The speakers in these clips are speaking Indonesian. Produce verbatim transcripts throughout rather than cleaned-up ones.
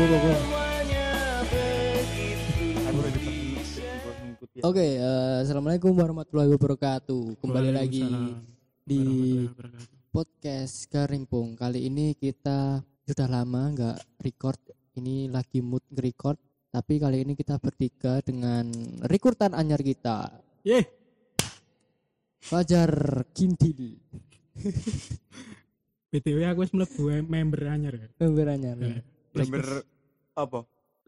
Go go go. Oke, uh, assalamualaikum warahmatullahi wabarakatuh. Kembali lagi di podcast Karimpung. Kali ini kita sudah lama nggak record. Ini lagi mood record. Tapi kali ini kita bertiga dengan rekrutan anyar kita. Ye. Fajar Kintil. B T W aku wis mlebu member anyar. Member anyar. Ya. Member apa?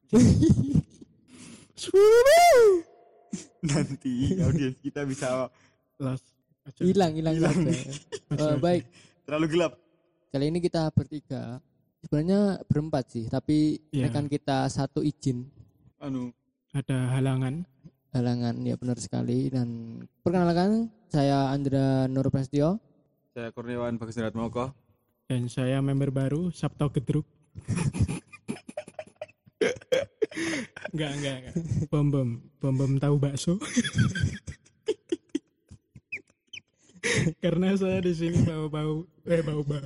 Nanti audiens kita bisa los hilang hilang hilang. uh, baik. Terlalu gelap. Kali ini kita bertiga. Sebenarnya berempat sih, tapi yeah. rekan kita satu izin. Anu, ada halangan. Halangan ya benar sekali. Dan perkenalkan, saya Andra Nur Prasetyo. Saya Kurniawan Bagus Ratmoko. Dan saya member baru Sabto Gedruk. enggak, enggak, enggak. Bom bom, bom bom tahu bakso. Karena saya di sini bau-bau, eh bau-bau.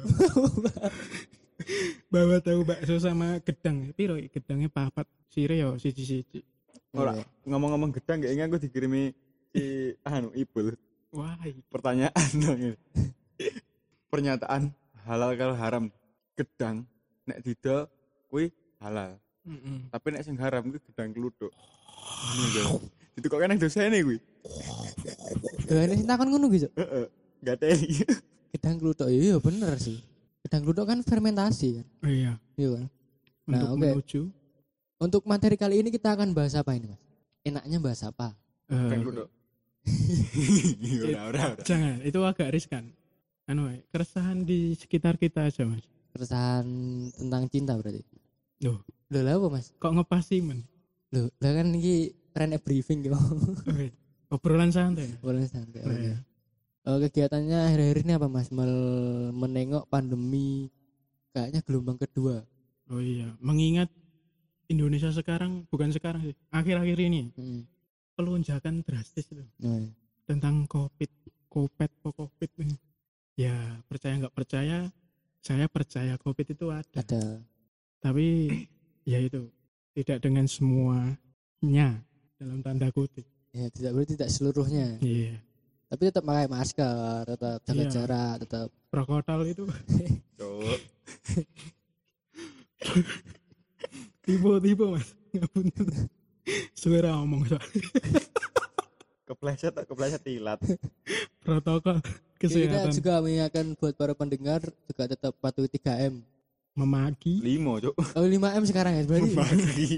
Bawa tahu bakso sama gedang. Piro gedangnya papat. Sire yo siji-siji. Ora, ngomong-ngomong gedang kayaknya aku dikirimi si anu Ibul. Wah, pertanyaan dong. Pernyataan halal kalau haram. Gedang nek didol kuwi halal. Mm-mm. Tapi nek sing haram kuwi gedang kluthuk. Ngono. Itu kok kan dosane kuwi. Eh nek takon ngono gitu. Heeh. Gateli. Gedang kluthuk iya bener sih. Gedang kluthuk kan fermentasi kan. Oh iya. Iya kan. Nah, Untuk okay. menuju Untuk materi kali ini kita akan bahas apa ini, Mas? Enaknya bahas apa? Gedang kluthuk. Ora, ora, ora. Jangan, itu agak riskan. Anu, keresahan di sekitar kita aja, Mas. Keresahan tentang cinta berarti. Loh, Loh lah apa, Mas? kok ngepas sih, men? Loh, lah kan ini trend briefing gitu. Oke. Obrolan santai. Boleh santai. Oh, Oke. iya. Oh, kegiatannya akhir-akhir ini apa, Mas? Mel- menengok pandemi kayaknya gelombang kedua. Oh iya, mengingat Indonesia sekarang, bukan sekarang sih, akhir-akhir ini Hmm. pelonjakan drastis itu Oh, iya. tentang COVID, COVID, COVID ini. Ya, percaya nggak percaya, saya percaya COVID itu ada. Ada. Tapi ya itu tidak dengan semuanya dalam tanda kutip. Ya, tidak berarti tidak seluruhnya. Iya. Tapi tetap pakai masker, tetap jaga Iya. jarak, tetap. Protokol itu Cuk. tipe-tipe, Mas. Ngapunten. Suara ngomong soal Kepleset tak kepleset tilat. protokol Kita kesehatan. juga mengingatkan buat para pendengar juga tetap patuhi tiga M. Memaki. Limo, Cuk. Oh lima M sekarang ya berarti. Memaki.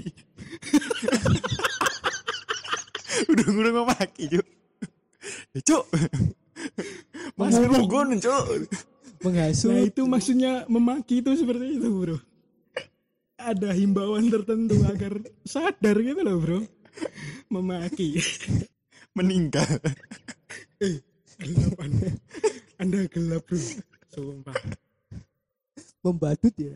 Udah udah memaki, Cuk. Ya, Cuk. Masker logon, Cuk. Menghasut. Nah itu maksudnya memaki itu seperti itu, bro. Ada himbauan tertentu agar sadar gitu loh, bro. Memaki. Meninggal. Eh, gelap anda. Anda gelap, bro. Sumpah. Membadut ya.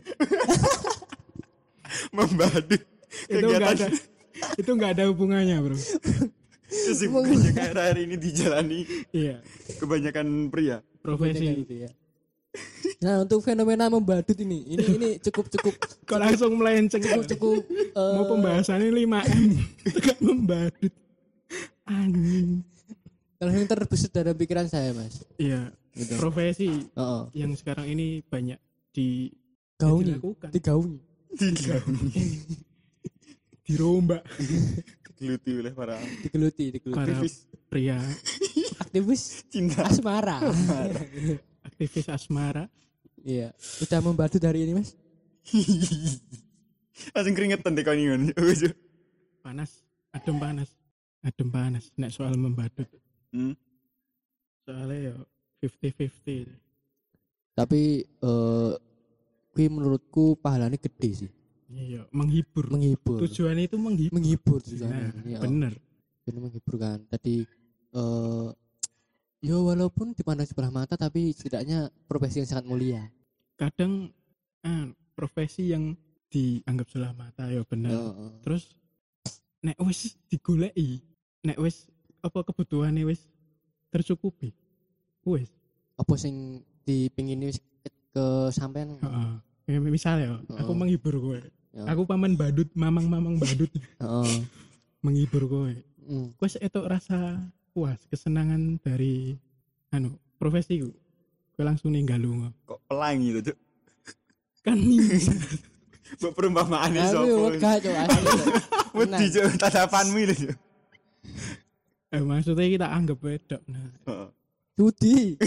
Membadut. Itu enggak ada. Itu enggak ada hubungannya, bro. Kesibukannya kayak hari ini dijalani Iya. kebanyakan pria. Profesi. Gitu ya. Nah untuk fenomena membadut ini, ini ini cukup cukup Kok langsung melenceng cukup cukup eh, mau pembahasannya lima M. Tekan membadut. Anjing. kalau yang terbesit dalam pikiran saya mas. Iya. Gitu. Profesi Oh, oh. yang sekarang ini banyak di Gauni, dilakukan. digauni. Tiga. Dirombak Digeluti oleh para Digeluti, digeluti. para aktivis pria Aktivis cinta. asmara. aktivis asmara. Iya, udah membadut hari ini mas. Langsung keringetan deh kau ini. Panas, adem panas, adem panas. Nek soal membadut, Hmm. soalnya ya fifty fifty. Tapi eh kui menurutku pahalanya gede sih. Iya, menghibur. Menghibur. Tujuannya itu menghibur. Menghibur Nah, tujuannya. Iya, bener. benar menghibur kan. Tadi eh ya walaupun dipandang sebelah mata tapi setidaknya profesi yang sangat mulia. Kadang ah, profesi yang dianggap sebelah mata ya bener. Oh, oh. Terus nek wis digoleki, nek wis apa kebutuhane wis tercukupi. Wis. Apa sing dipingin wis ke sampean? Heeh. Ya, misalnya Oh. aku menghibur kowe. Ya. Aku paman badut, mamang-mamang badut. Heeh. Menghibur kowe. Hmm. Kowe etok rasa puas, kesenangan dari anu, profesiku. Kowe langsung ninggal lunga. Kok pelangi lho, Cuk. Kan ninja. Mbok perumpamaane Aku sapa? wegah cuk asli. Wedi Cuk tatapanmu lho, Cuk. Eh, maksudnya kita anggap wedok. Nah, Heeh. Judi.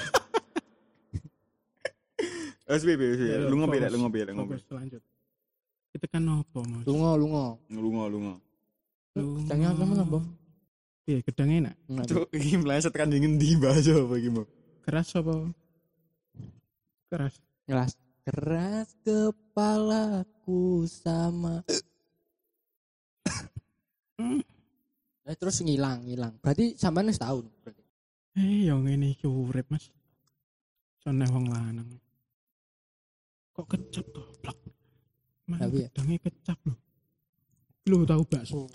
Wes piye piye, ya, lu ngopi lek, fokus, lu ngopi lek ngopi. fokus, lanjut. Kita kan nopo, Mas? Lunga lunga. Lunga lunga. Gedangnya temen apa? Iya, gedangnya enak. Enak. Cuk, iki meleset kan dingin di bahasa apa iki mau? Keras apa? Keras. Keras. Keras kepalaku sama. Hmm. Eh, terus ngilang, ngilang. Berarti sampean wis tahun berarti. Eh, yang ini iki urip, Mas. Soalnya wong lanang. Kok kecap toh, plak. Mas, Tapi ya. gedangnya kecap loh. Lu tahu bakso?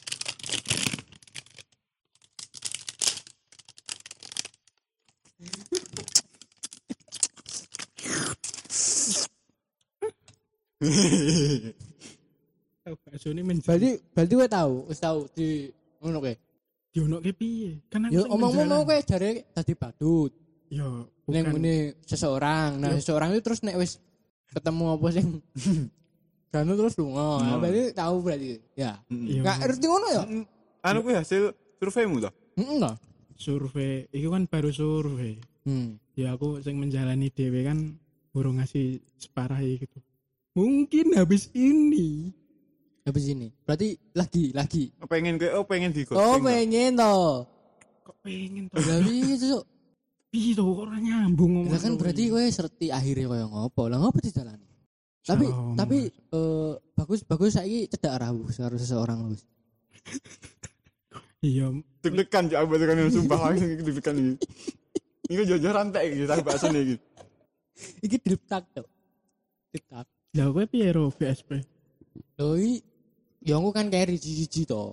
Tahu bakso ini menjadi. Berarti berarti kowe tahu, wis tahu di ngono kowe. Dionoke piye? Kan aku Ya sing omong ngono menjalan. kowe jare dadi badut. Ya, Ning bukan. ngene seseorang. Nah, Ya. seseorang itu terus nek wis ketemu apa sing Ganu terus lunga. Nah, Oh. berarti tahu berarti. Ya. Iya. Enggak ngerti ngono ya? Anu kuwi hasil surveimu toh? Heeh enggak. Survei, itu kan baru survei. Hmm. Ya aku sing menjalani dhewe kan burung ngasih separah gitu. Mungkin habis ini. Habis ini. Berarti lagi lagi. Pengen kowe oh pengen di Oh, pengen toh. Kok pengen toh? Lah piye, Cuk? Piye toh kok ora nyambung ngomong. Lah kan berarti kowe serti akhirnya koyo ngopo. Lah ngopo dijalani? Tapi Salah tapi ngomong. eh, bagus bagus saiki cedak rawuh karo seseorang wis. Iya, deg-degan ya aku kan sumpah langsung iki deg-degan iki. Iku jujur rantek iki tak bakso iki. Iki diletak tuh. Diletak. lah kowe piye ro B S P? Lho iki ya aku kan carry siji to.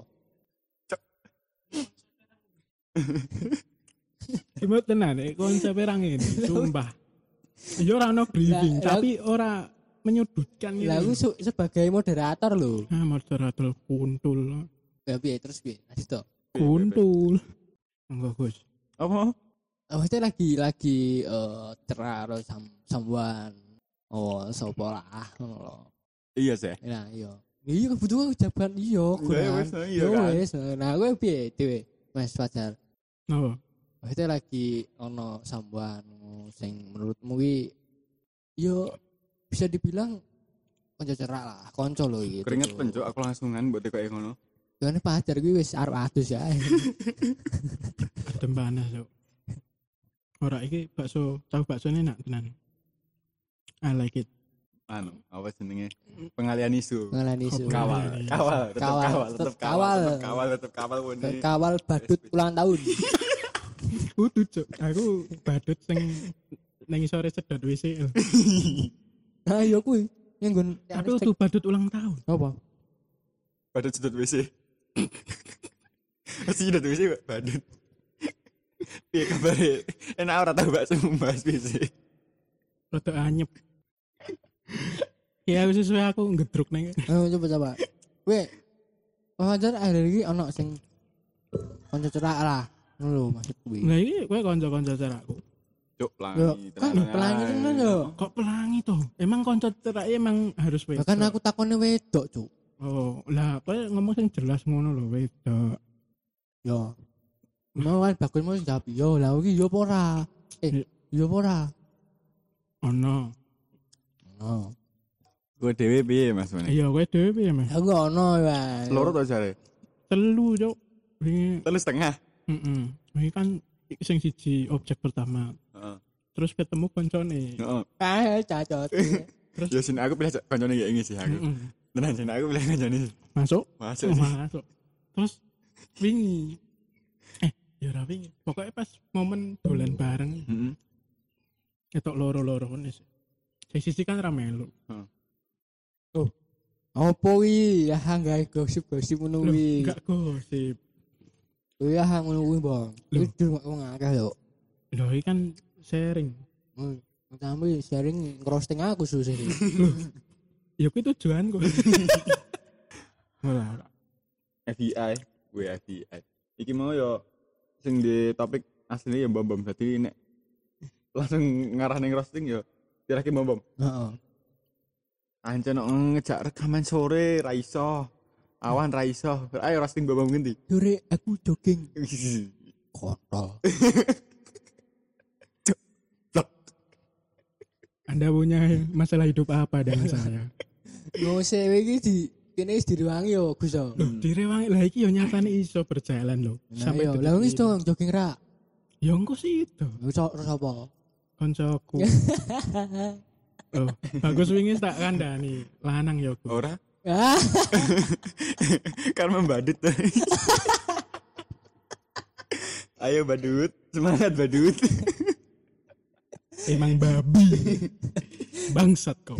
Cuma tenan eh konsep perang ini, sumpah. Ya ora ono briefing, Lah, tapi ora menyudutkan Lah aku gitu. su- sebagai moderator lho. Ah, moderator kuntul. Ya piye terus piye? Lanjut to. Kuntul. Enggak, Gus. Apa? Oh, itu lagi lagi eh cerak karo sam someone. Oh, sapa lah ngono lho. Iya sih. Nah, iya. Iya kebutuhan jawaban iya, Iya, kurang. wis, iya Ya kan. wis. Nah, kowe piye dhewe? Mas Fajar. Napa? Itu lagi ono someone sing menurutmu ki yo bisa dibilang kanca cerak lah, kanca lho iki. Keringet pencuk aku langsungan mbok tekoke ngono. Jane Fajar kuwi wis arep adus ya. Adem panas, Cuk. Ora iki bakso, tahu bakso ini enak tenan. I like it. Anu, apa jenenge? Pengalian isu. Ngalani isu. Kawal, kawal, tetep Kawal, kawal, tetep tetep kawal, kawal. tetep kawal, tetep kawal wene. Kawal badut ulang tahun. Kudu, Cuk. Aku badut sing nang sore sedot W C. Nah, iya kuwi. Yang nggon Tapi kudu badut ulang tahun. apa? Badut sedot W C. Pasti sedot W C badut. Piye kabare? Enak ora tau bakso membahas W C. Rada anyep. Ya aku sesuai aku ngedruk neng. Oh, coba coba. Kowe Fajar akhir iki ono sing kanca cerak lah. Ngono lho maksud kuwi. Nah ini kowe kanca-kanca ceraku. Cuk, Yo, pelangi. kan tenanan pelangi ae. tenan yo. Kok pelangi toh? Emang kanca cerak emang harus wedok. Bahkan aku takone wedok, Cuk. Oh, lah kowe ngomong sing jelas ngono lho wedok. Yo. Mau kan bagus mau jawab yo, lah iki yo apa ora? Eh, yo apa ora? Ono. Oh. Kowe dhewe piye Mas Mane? Iya kowe dhewe piye, Mas? Aku ono ya. Loro to jare? Telu, Cuk. Wingi, Telu setengah. heeh. Wingi kan sing siji objek pertama. Heeh. Terus ketemu koncone. Heeh. Ah, cacot. Terus Ya sini aku pilih kancane ya ini sih aku. heeh. Tenan sini aku pilih kancane. Masuk. Masuk Oh, sih. masuk. Terus wingi. Eh, ya ora wingi. Pokoknya pas momen dolan bareng Heeh. ketok loro-loro ngene sih. Sing sisi kan ra melu. Opo wi? Ya gawe gosip-gosip ngono Loh, wi. enggak gosip. Oh ya ngono kuwi, Bang. Loh. Iki cuma wong akeh lho. Lho iki kan sharing. Hmm. Tapi sharing ngerosting aku susah sih. Ya kuwi tujuanku. Ora. F B I, gue F B I. Iki mau yo sing di topik asli ya bom-bom. Dadi nek langsung ngarah ning roasting yo dirake bom-bom. Heeh. Ancen ngejak rekaman sore ra iso. Awan ra iso. Ayo roasting bom-bom ngendi? Sore aku jogging. Kontol. Anda punya masalah hidup apa dengan saya? Yo sewe iki di kene wis direwangi yo Gus. Loh, direwangi lah iki yo nyatane iso berjalan loh. Sampai yo lah wis dong jogging ra. Ya engko sih itu. Wis sapa? Koncoku. Oh, bagus wingi tak kandhani lanang yo. Ora. Ah. Kan membadut. Ayo badut, semangat badut. Emang babi. Bangsat kau.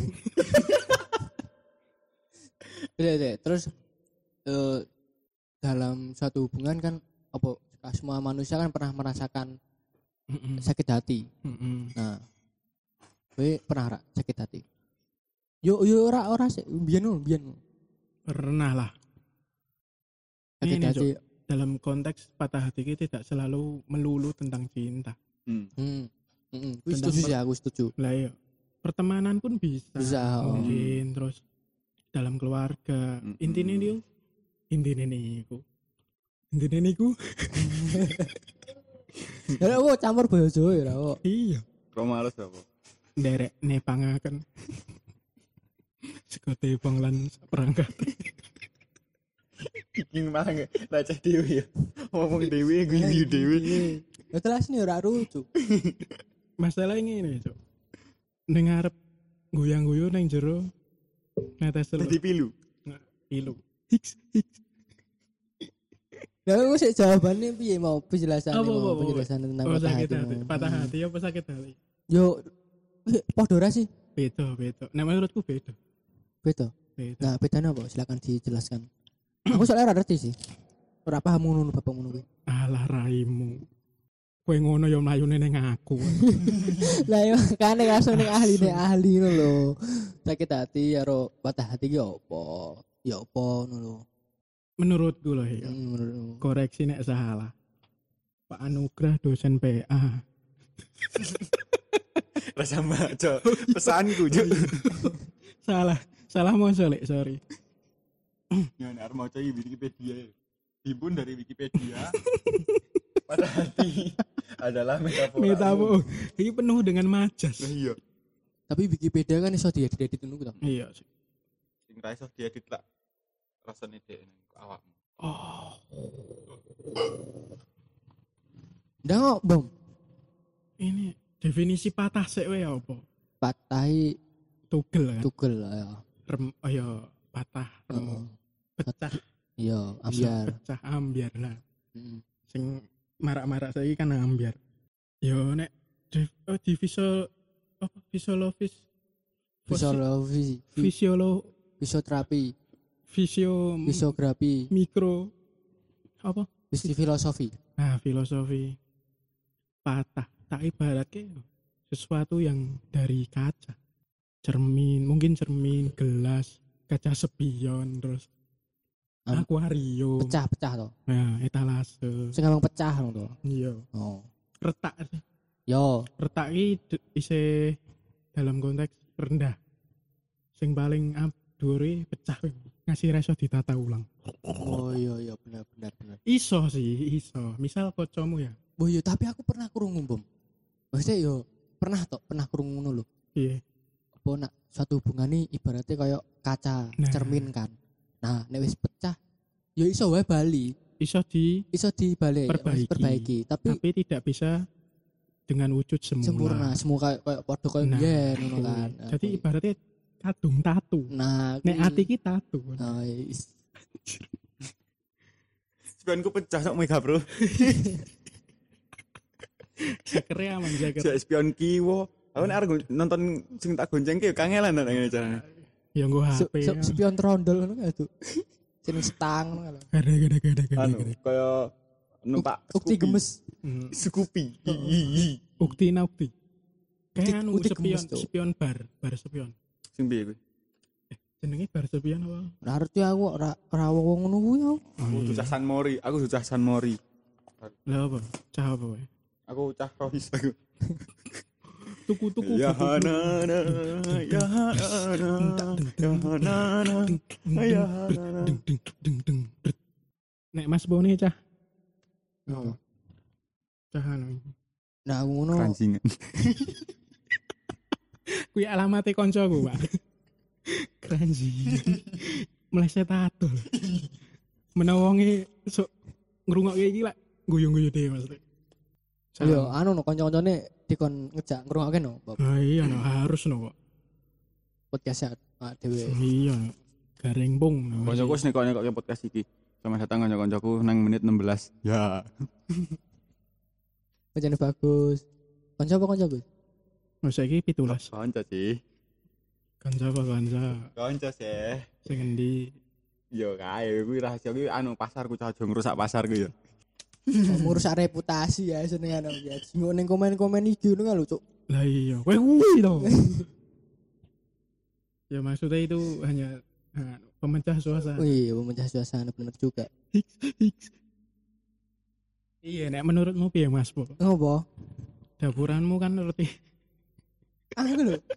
Deh, terus uh, dalam suatu hubungan kan apa semua manusia kan pernah merasakan Mm-mm. sakit hati. Mm-mm. Nah, kowe pernah ra sakit hati? Yo yo ora ora sih, biyen lho, biyen. Pernah lah. Sakit Ini, hati. Cok, dalam konteks patah hati kita tidak selalu melulu tentang cinta. Hmm. Hmm. Heeh. Wis Tentang setuju per- sih aku setuju. Lah iya, pertemanan pun bisa. Bisa, oh. Mungkin terus dalam keluarga. Mm-mm. Intinya dia intinya niku. Intinya niku. Ya kok campur basa Jawa ya kok. Iya. Kok males apa? Derek nepangaken. Sekote panglan perangkat. Iki malah leceh dhewe ya. Ngomong dhewe guyu dhewe. Ya kelas ini ora lucu. Masalah ngene, Cuk. Ning arep goyang-guyu ning jero netes telur. Dadi pilu. Nggak, pilu. Hiks hiks. Lah kok sik jawabane piye mau penjelasan Apa, mau apa, apa? penjelasan tentang Oh, patah sakit hati. hati. mau. Patah hati apa sakit hati? Yo eh, padha ora sih? Beda, beda. Nah, menurutku beda. Beda. Beda. Nah, bedanya apa? Silakan dijelaskan. Aku soalnya ora ngerti sih. Ora paham ngono bapak ngono kuwi. Alah raimu. Kowe ngono ya mlayune ning aku. Lah yo kan langsung ning ahli ning ahli ngono lho. Sakit hati karo patah hati ki apa? Ya apa ngono lho. Menurutku loh ya. Hmm, menurutmu. Koreksi nek salah. Pak Anugrah dosen P A. Rasa maco. Pesanku, Cuk. Salah, salah mau solek, sorry. Ya nek arep maca iki Wikipedia. Himpun dari Wikipedia. Pada hati adalah metafora. Metafor. Ini penuh dengan majas. Nah, iya. Tapi Wikipedia kan iso diedit-edit ngono to. Iya sih. Sing ra iso diedit lak rasane dhek ning awakmu. Oh. Ndak kok, Bom. Ini definisi patah sik wae apa? Patahi Tugel kan. tugel ya. Rem, oh ya patah. Rem, Heeh. pecah. Iya, ambiar. Pecah ambiar lah. Heeh. Sing marak-marak saiki kan ambiar. Yo nek di, oh, di visual apa fisiologis Fisiologi, fisiolo fisioterapi, fisio fisiografi, mikro apa? fisi filosofi. Nah, filosofi patah tak ibaratnya sesuatu yang dari kaca, cermin, mungkin cermin, gelas, kaca spion, terus Am- akuarium, Pecah-pecah to. nah etalase, Sing gampang pecah ngono to. iya, Oh. retak sih, Yo, retak ini isi dalam konteks rendah, sing paling up dhuwure pecah ngasih reso ditata ulang. oh iya iya benar benar benar. Iso sih, iso. Misal kocomu ya, Oh iya, tapi aku pernah krungu, Bom. Maksudnya yo pernah tok, pernah krungu ngono lho. iya, Apa nak suatu hubungan ini ibaratnya kayak kaca, Nah. cermin kan. Nah, nek wis pecah, yo iso wae bali, iso di iso dibalik, Perbaiki. wis perbaiki, tapi, tapi tidak bisa dengan wujud semula. sempurna, semua kayak kayak padha kayak Nah, biyen ngono kuwi. kan. Jadi ibaratnya kadung tatu. nah, Nek kuwi. ati ki tatu. Nah, is- Spionku pecah sok mega, Bro. Sekere aman jaket. Jak spion kiwo. Aku nek arep nonton sing tak goncengke kangelan nek ngene carane. Ya nggo se- H P. se- spion trondol ngono kan tuh. Sing stang ngono kan. Gede gede gede gede. Anu, gede. kaya numpak Ukti Scoopy. gemes. Hmm. Scoopy. Hi, hi, hi. Ukti na ukti. Ukti- Kayak anu ukti spion, gemes, Cuk. spion bar, bar spion. Sing piye kuwi? Jenenge bar sepian apa? Ora ngerti aku ora ora wong ngono kuwi aku. Aku cah San Mori, aku cah San Mori. Lah apa? Cah apa wae? Aku cah Rohis aku. Tuku-tuku. Ya hanana, ya hanana, ya hanana, ya hanana. Deng deng deng deng. Nek Mas Boni cah. Oh. Cah anu. Nah, aku ngono. Keranjingan. Kuwi alamate koncoku, Pak. Kranji. Meleset atul. Menawa wonge sok ngrungokke iki lak guyu-guyu dhewe maksudnya. Yo anu no kanca-kancane dikon ngejak ngrungokke no. Ah iya no harus no kok. Podcast awak dhewe. Iya. Gareng pung. Koncoku wis nekok-nekokke podcast iki. Selamat datang kanca-kancaku nang menit enam belas. Ya. Pancene bagus. Kanca apa kanca, Gus? Wis saiki pitulas. Kanca sih. Kanca apa kanca? Kanca sih. Sing endi? Yo kae kuwi rahasia kuwi anu pasarku cah aja ngrusak pasarku ya. Merusak reputasi ya senengan aku ya. Sing ning komen-komen iki ngono kan lho, Cuk. Lah iya, kowe kuwi to. Ya maksudnya itu hanya uh, pemecah suasana. Wih, memecah suasana bener juga. Iya, nek menurutmu piye Mas Po? Ngopo? Dapuranmu kan ngerti. Aku lho.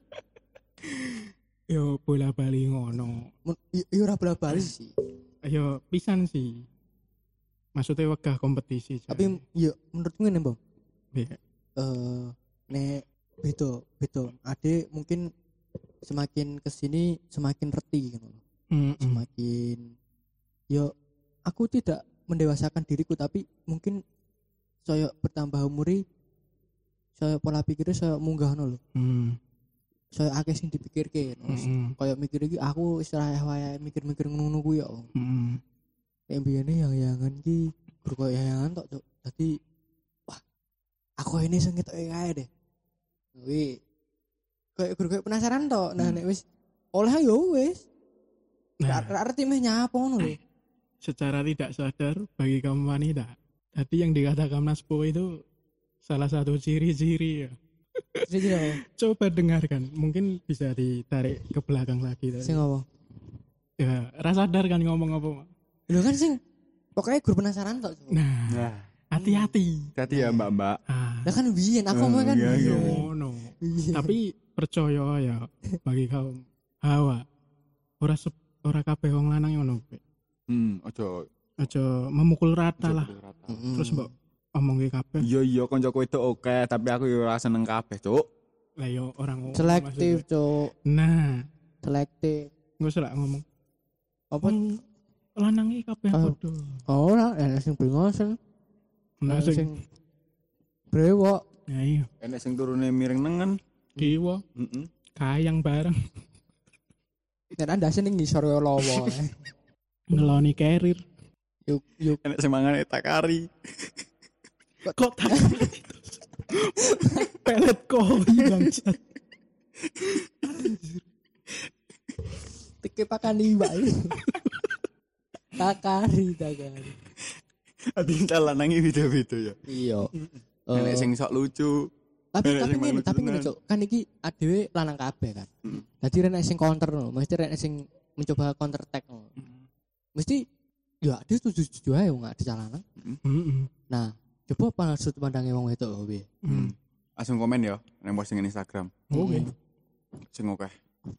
Yo bola bali ngono. Yo ora bola-bali sih. Yo pisan sih. Maksudnya wegah kompetisi. Tapi yo menurutku ngene, Bang. Iya. Eh nek beda, beda. Ade mungkin semakin kesini semakin reti gitu loh. Mm-mm. Semakin yo aku tidak mendewasakan diriku tapi mungkin saya bertambah umuri saya pola pikirnya saya munggah loh. Mm. Saya akeh sing dipikirke. Mm-mm. Kayak mikir iki aku istilahnya wae mikir-mikir ngono kuwi ya. Mm-mm. Nek mbiyene yang-yangan ki guru koyo yang-yangan tok, Cuk. Dadi wah, aku ini sing ngetoke kae deh. Kuwi kayak guru koyo penasaran tok. Nah nek wis oleh ya wis. Nah, Ra arti meh nyapa ngono lho. secara tidak sadar bagi kaum wanita, tadi yang dikatakan Mas Po itu salah satu ciri-ciri ya. Jadi apa? Coba dengarkan, mungkin bisa ditarik ke belakang lagi. Sing apa? Ya, rasa sadar kan ngomong apa? Lho kan sing pokoknya guru penasaran tok. Cuk. Nah, Nah, hati-hati. hati ya Mbak-mbak. Ah, Lah kan biyen aku Oh, mah kan iya, iya. biyen. ngono. Iya. Tapi percaya ya bagi kaum hawa, ora sep- ora kabeh wong lanang ngono. Pe. Hmm, ojo Aja memukul rata ojo lah. pukul rata. Mm-mm. Terus mbok omongke kabeh. Iya iya kancaku itu oke, tapi aku yo ora seneng kabeh, Cuk. Lah yo orang ngono selektif, maksudnya. Cuk. Nah, Selektif. enggak usah lah ngomong. Apa? Hmm, lanang iki kabeh Oh. padha. Oh, ora enek sing bringosen. Nah, Enek sing sing brewok. ya iya, Enek sing turune miring nengen. kiwa Heeh. kayang bareng Nek andase ning ngisor yo lowo. ngeloni carrier. Yuk yuk Enek sing mangan takari. Kok tak pelet koi bangsat. teke pakani mbak. Takari, takari. Ati lanange beda-beda ya. Iya. Enek sing sok lucu. tapi enek tapi sing ngene, malu tapi ngene, tenan. Cuk. Kan iki adewe lanang kabeh kan. Mm. Dadi rene sing counter lho, mesti rene sing mencoba counter attack lho. Mesti ya dia setuju-setuju ae wong ade lanang. Heeh. Nah, coba apa sudut pandangnya wong wedok lho piye? Hmm. Langsung komen ya nang postingan Instagram. Oke. Sing oke.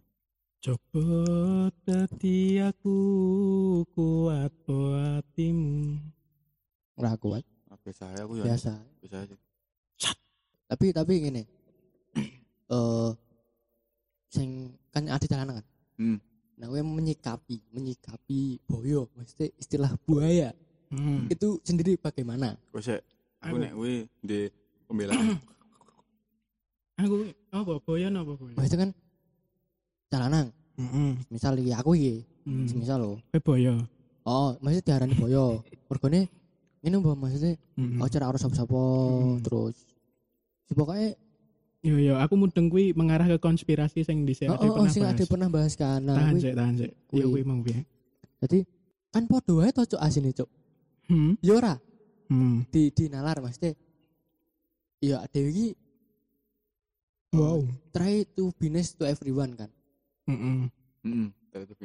Coba dadi aku kuat hatimu. Ora kuat, Ah, biasa aja aku ya. biasa. Biasa aja. Tapi tapi ngene. Eh sing kan ade lanang kan. Hmm. Nah, gue menyikapi, menyikapi boyo, mesti istilah buaya. Hmm. Itu sendiri bagaimana? Wes sik. Aku Aku- nek kuwi di pembelaan. Aku apa boyan apa boyan? Maksudnya kan lanang, Heeh. misal iki aku iki, Hmm. misal lo. Kowe boyo. Oh, maksudnya diarani boyo. Mergone ngene mbok maksudnya Heeh. oh cara harus sapa-sapa Hmm. terus. Si pokoknya Yo yo aku mudeng kuwi mengarah ke konspirasi sing dhisik oh, ade oh, oh pernah sing bahas. ade pernah bahas kan. Nah, Tahan kuwi- sik, tahan sik. kuwi. Yo kuwi mau piye? Jadi kan podo wae to cuk asine cuk. Hmm. Ya ora Hmm. di di nalar maksudnya. Ya dhewe iki Wow. try to be nice to everyone kan. Heeh. Heeh. Terus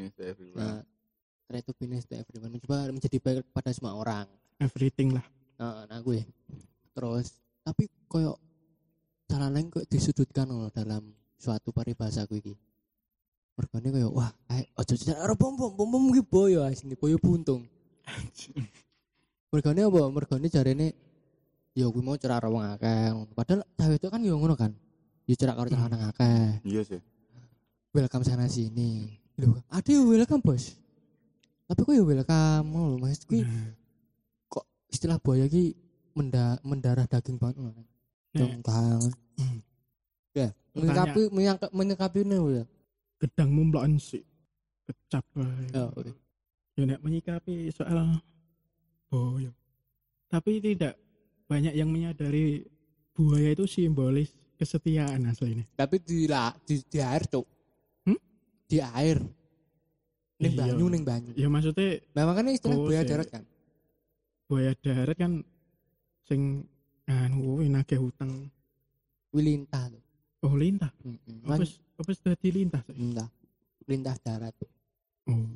kindness to everyone, mencoba menjadi baik pada semua orang. Everything lah. Nah, nah gue. Terus tapi koyo salah lain kok disudutkan loh dalam suatu paribasa gue iki. Mergane koyo wah, ae ojo cara bom bom bom bom ki boyo asine boyo buntung. Mergane apa? Mergane jarene ya gue mau cerak wong akeh. Padahal cewek itu kan yo ngono kan. Yo cerak karo cerak nang akeh. Iya sih. Welcome sana sini. Lho, ada yo welcome bos. Tapi kok yo welcome lho Mas kuwi. Kok istilah buaya ki menda, mendarah daging banget lho. Dong banget. Ya, menyikapi menyangka menyikapi ini ya. Gedangmu mloken sik. Kecap wae. Ya, oke. Ya nek menyikapi soal boyo. Tapi tidak banyak yang menyadari buaya itu simbolis kesetiaan aslinya. Tapi di la, di, di air, Cuk. Hmm? Di air. Ning Iya. banyu ning banyu. Ya maksudnya Memang kan istilah Oh, buaya sih. darat kan. buaya darat kan sing anu kuwi nagih hutang. Wilintah lho. Oh lintah. Heeh. Apa wis apa wis dadi lintah sih? Lintah. Lintah darat. Oh.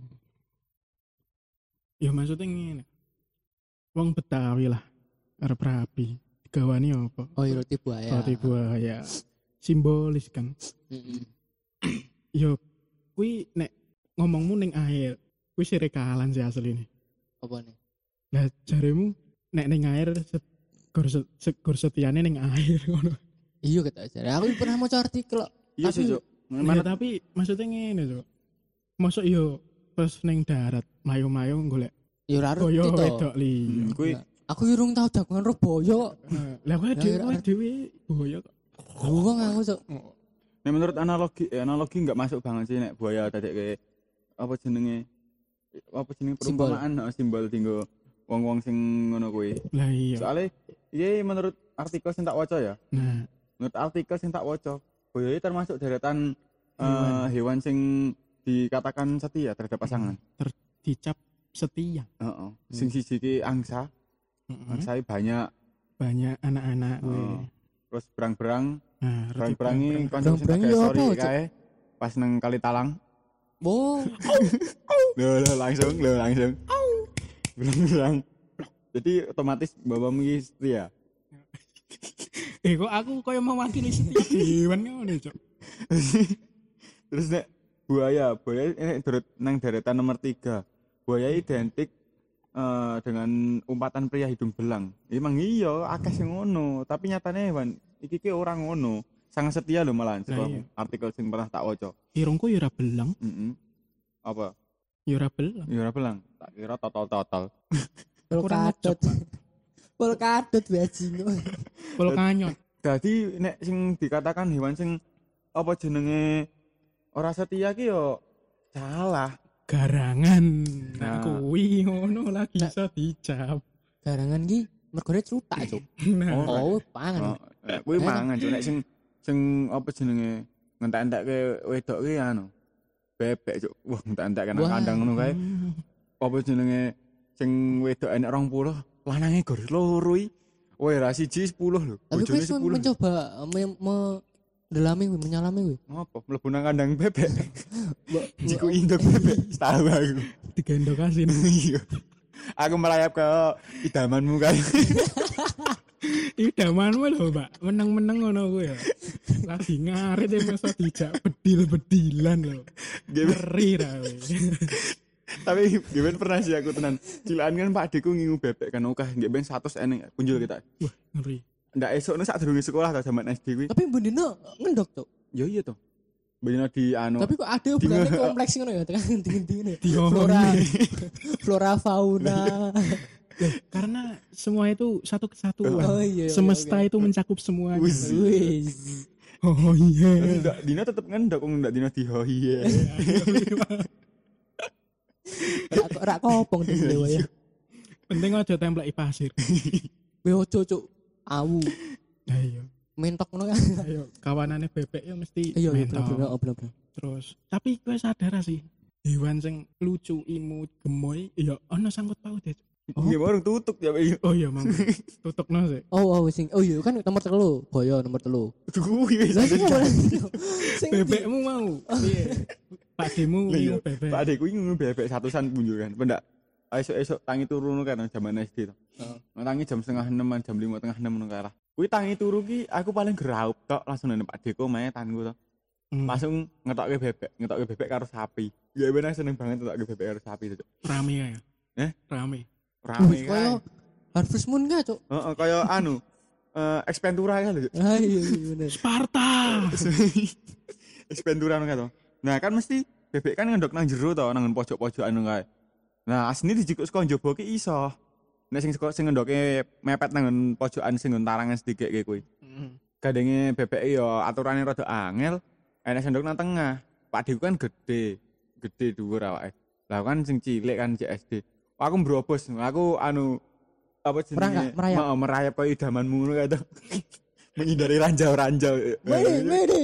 Ya maksudnya ngene. Wong Betawi lah arep rapi. Digawani apa? Oh, iya, roti buaya. Roti buaya. Simbolis kan. Heeh. Yo kuwi nek ngomongmu ning air, kuwi sirekalan sih asline. Apa nih? Lah jaremu nek ning air set, gor set, gor setiane ning air ngono. Iya kata aja. Aku pernah maca artikel kok. Iya sih, Cuk. Ya, Mana tapi maksudnya ngene Cuk. Mosok yo pas ning darat mayo-mayo golek Ya ora boyo roti to. wedok liya. Hmm, kuwi Aku urung tau jagongan ro boyo. Lah kowe Ya, dhewe ya, dhewe boyo kok. Wong aku Cuk. nek menurut analogi eh, analogi enggak masuk banget sih nek buaya dadek kayak apa jenenge apa jenenge Simbol. perumpamaan heeh, simbol tinggo wong-wong sing ngono kuwi. Lah iya. Soale iya menurut artikel sing tak waca ya. Nah, Menurut artikel sing tak waca, buaya iki termasuk deretan eh, Hewan. hewan sing dikatakan setia terhadap pasangan. ter dicap setia. Heeh. Sing siji ki angsa, Heeh. angsa banyak Banyak anak-anak Oh. kuwi. terus berang-berang, Nah, roti berang-berangi berang-berang. kanca sing Berang-berangi pakai ya story apa, Cuk? kae pas nang Kali Talang. Wow. Loh, loh, langsung, loh, langsung. Berang-berang. Jadi otomatis bapamu iki setia. Eh kok aku koyo mewakili setia hewan ngono, Cuk. Terus nek buaya, buaya ini turut nang deretan nomor tiga. Buaya identik eh, dengan umpatan pria hidung belang. Emang iya, akeh sing ngono, tapi nyatane hewan iki ki ora ngono. Sangat setia lho malah Lah iya. artikel sing pernah tak waca. Irungku ya ora belang, Heeh. Apa? ya ora belang. Ya ora belang. Tak kira total-total. Kurang ngecep, Polkadot. Polkadot bajingan. Pol kanyot. Jadi nek sing dikatakan hewan sing apa jenenge ora setia ki yo salah. Garangan. Nah. Nah, kuwi ngono lagi Nah. iso dicap. Garangan ki mergone celutak, Cuk. Nah, Oh, Oh, pangan. Oh, nek kuwi mangan Cuk. Nek sing sing apa jenenge ngentek-entekke wedok ki anu bebek Cuk. Wah, ngentek-entek nang Wah. kandang ngono kae. Apa jenenge sing wedok enek rong puluh, lanange gor loro iki. Woi, ra siji sepuluh lho. Tapi Bojone kowe sun sepuluh. mencoba me- mendelami kuwi, menyalami kuwi. Ngopo? Mlebu nang kandang bebek. Mbok Jiku induk bebek. Tahu aku. digendong asin. Iya. Aku merayap ke idamanmu kan. Idamanmu lho, Mbak. Meneng-meneng ngono kuwi ya. Lagi ngarit ya masa dijak bedil-bedilan lho. Ngeri ra kowe. Tapi gimana pernah sih aku tenan. Cilaan kan Pak Deku ngingu bebek kan oke, nggih ben seratus eneng kunjul kita. Wah, ngeri. Ndak esuk nek sak durunge sekolah ta zaman S D kuwi. Tapi bendino ngendok, Cuk. Ya iya to. Bener di anu. Tapi kok ada berarti kompleks ngono ya, tekan dingin-dingin ya. Dihongoni. Flora flora fauna. Karena semua itu satu kesatuan. Oh, iya, iya, Semesta oke. itu mencakup semuanya. Wis. Wis. Oh iya. Ndak dina tetep ngendok kok ndak dina dihohi ya. Rak rak kopong tuh dewa ya. Penting aja templeki pasir. Be ojo, Cuk. Awu. Ayo. Mentok ngono kan. Ayo, kawanane bebek ya mesti Iya, iya, mentok. bener bener bener. Terus, tapi kowe sadar sih, hewan sing lucu, imut, gemoy, ya ana sangkut paut ya. Nggih orang tutuk ya Pak. Oh iya mang. Tutukno sih. Oh, oh sing oh iya kan nomor telu, boyo nomor telu. Kuwi Lah sing mana? Sing di- Bebekmu mau. Piye? Pak Demu Iya, ngomong bebek. Pak adekku iki ngono bebek satusan punjul kan. Pendak esuk-esuk tangi turu ngono kan jaman S D to. Heeh. Tangi jam setengah enam jam lima tengah enam ngono kalah. Kuwi tangi turu ki aku paling geraup tok langsung nang Pak Deko mae tanku to. Hmm. Langsung ngetokke bebek, ngetokke bebek karo sapi. Ya bener seneng banget ngetokke bebek karo sapi to. Rame ya. Eh? Rame. Rame Wih, kan. koyo Harvest Moon gak, Cuk? Heeh, kaya anu eh Expentura kan lho. Ah iya iya bener. Sparta. Expentura ngono kan to. Nah, kan mesti bebek kan ngendok nang jero to, nang pojok-pojokan ngono kae. Nah, asline dijikuk saka njaba ki iso. Nek sing sing ngendoke mepet nang pojokan sing nggon tarangan sedikit kayak kuwi. Heeh. Gandenge bebek yo aturane rada angel, enek sendok nang tengah. Pak Deku kan gede, gede dhuwur awake. Lah kan sing cilik kan C S D. Aku mbrobos, aku anu apa jenenge? Merangkak, merayap. Mau merayap koyo idamanmu ngono kae to. Menghindari ranjau-ranjau. Mede, mede.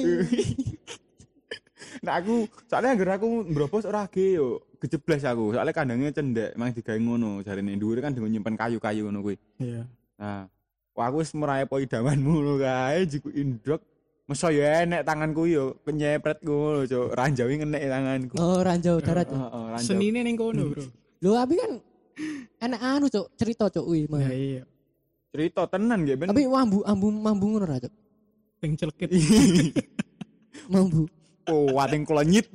Nah aku soalnya anggere aku mbrobos ora ge yo kejebles aku. Soalnya kandangnya cendek, mang digawe ngono jarene dhuwur kan digo nyimpen kayu-kayu ngono kuwi. Iya. Nah, wah aku wis merayap koyo idamanmu ngono kae jiku indrok. Masa ya enek tanganku yo kenyepret ngono, Cuk. Ranjawi ngenek tanganku. Oh, ranjau darat. Heeh, heeh, ranjau. Senine ning kono, Bro. Lho, tapi kan enak anu, Cuk, cerita, Cuk, kuwi. Ya iya. Cerita tenan nggih ben. Tapi mambu ambu mambu ngono ra, Cuk. Sing celekit. Mambu. Oh, wating klonyit.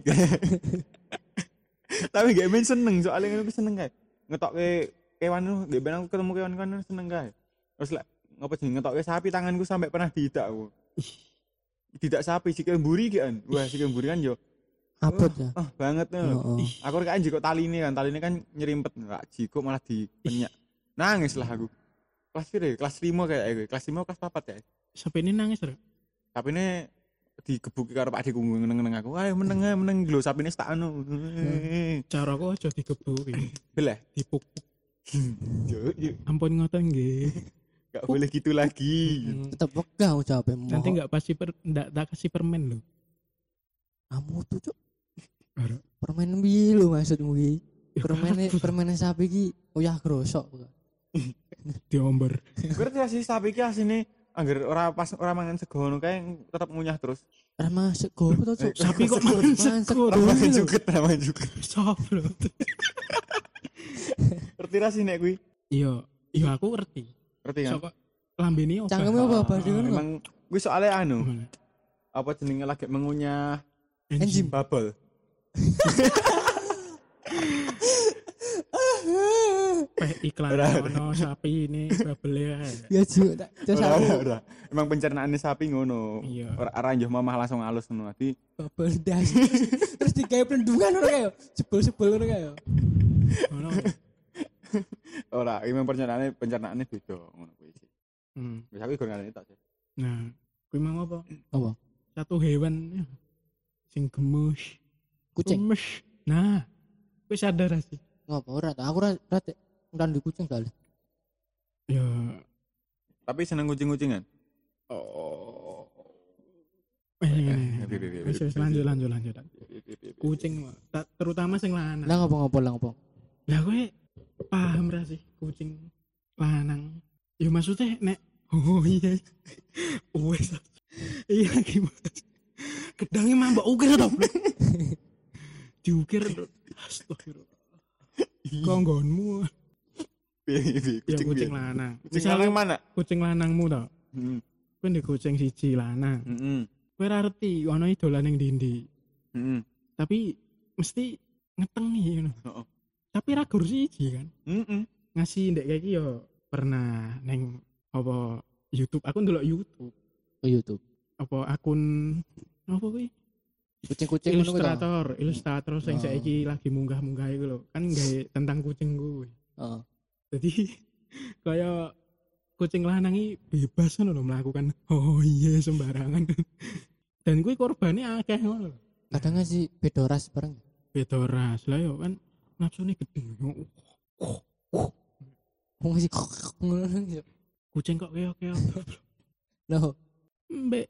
Tapi gak ben seneng soalnya aku seneng kae. Ngetokke kewan lu, gak ben aku ketemu kewan-kewan seneng kae. Terus lek ngopo jeneng ngetokke sapi tanganku sampai pernah diidak aku. Tidak sapi sikil mburi ki kan. Wah, sikil mburi kan yo Abot ya. ah banget lho. Heeh. Aku kan jiko taline kan, taline kan nyerimpet enggak jiko malah dipenyak. Nangis lah aku. Kelas piro? Kelas lima kayak aku. Kelas lima kelas papat ya. Sapine nangis, Bro. Tapi ini digebuki karo Pak Deku ngeneng-ngeneng aku. Ayo meneng ae meneng lho sapine tak anu. Cara kok aja digebuki. Beleh. Dipuk-puk. Yuk, yuk. Ampun ngoten nggih. Gak boleh gitu lagi. Tetep wegah jawabnya. Nanti enggak pasti per ndak tak kasih permen lho. Kamu tuh, Cuk. Ora. Permen piye lho maksudmu iki? Ya, Permen permen sapi iki uyah grosok. Diomber. Berarti sih sapi ki asine angger ora pas ora mangan sego ngono kae tetep ngunyah terus. Ora masuk go to, Cuk. Sapi kok mangan sego. Ora mangan juket, ora mangan juket. Sop lho. Ngerti ra sih nek kuwi? Iya, iya aku ngerti. Ngerti kan? Sok lambene obah. Cangkeme apa bahasa ngono? Emang kuwi soalnya anu, apa jenenge lagi mengunyah Enzim. bubble. Peh iklan ono sapi ini babele ae. Ya juga tak Ora, sapi ora, ora. Emang pencernaane sapi ngono. Iya. Ora ora njoh mamah langsung halus ngono. Dadi babel das. Terus digawe plendungan ngono kae. Jebol-jebol ngono kae. Ono. ora, emang pencernaane pencernaane beda ngono kuwi sih. Hmm. Wis aku goreng tok sih. Nah, kuwi mau apa? Apa? Satu hewan sing gemus. Kucing. Gemes. Nah, kowe sadar ra sih? Ngopo ora ta? Aku ora ora ndan di kucing kali. Ya, Tapi seneng kucing-kucingan. oh. Eh, Eh, bi, bi, bi, wis bi, wis bi, lanjut bi. lanjut lanjut. Kucing mah, ta- terutama sing lanang. Lah ngopo ngopo lah ngopo? Lah kowe paham ra sih kucing lanang? Ya maksudnya nek oh iya. Wes. Iya gimana? Gedangnya mambak ukir to, Bro. Diukir. Astagfirullah. Konggonmu. Bi, bi, Ya kucing kucing bi. lanang. Kucing Misalnya lanang mana? kucing lanangmu to. Heeh. Kowe ndek kucing siji lanang. Heeh. Kowe ra ngerti ana idolan ning ndi-ndi. Heeh. Tapi mesti ngetengi ngono. Heeh. Tapi ra gur siji kan. Heeh. Ngasih ndek kayak iki yo pernah neng apa YouTube. Aku ndelok YouTube. Ke YouTube. Apa akun apa kuwi? Kucing-kucing ngono kuwi. ta? Ilustrator, ilustrator sing Oh. saiki lagi munggah-munggah iku lho. Kan gawe tentang kucing kuwi. Heeh. Jadi kayak kucing lanang iki bebas ngono lho melakukan oh iya sembarangan. Dan kuwi korbane akeh ngono lho. Kadang sih beda ras bareng. Beda ras lah yo kan nafsune gede. Wong sih ngono ya. Kucing kok keok-keok. Loh, Mbek.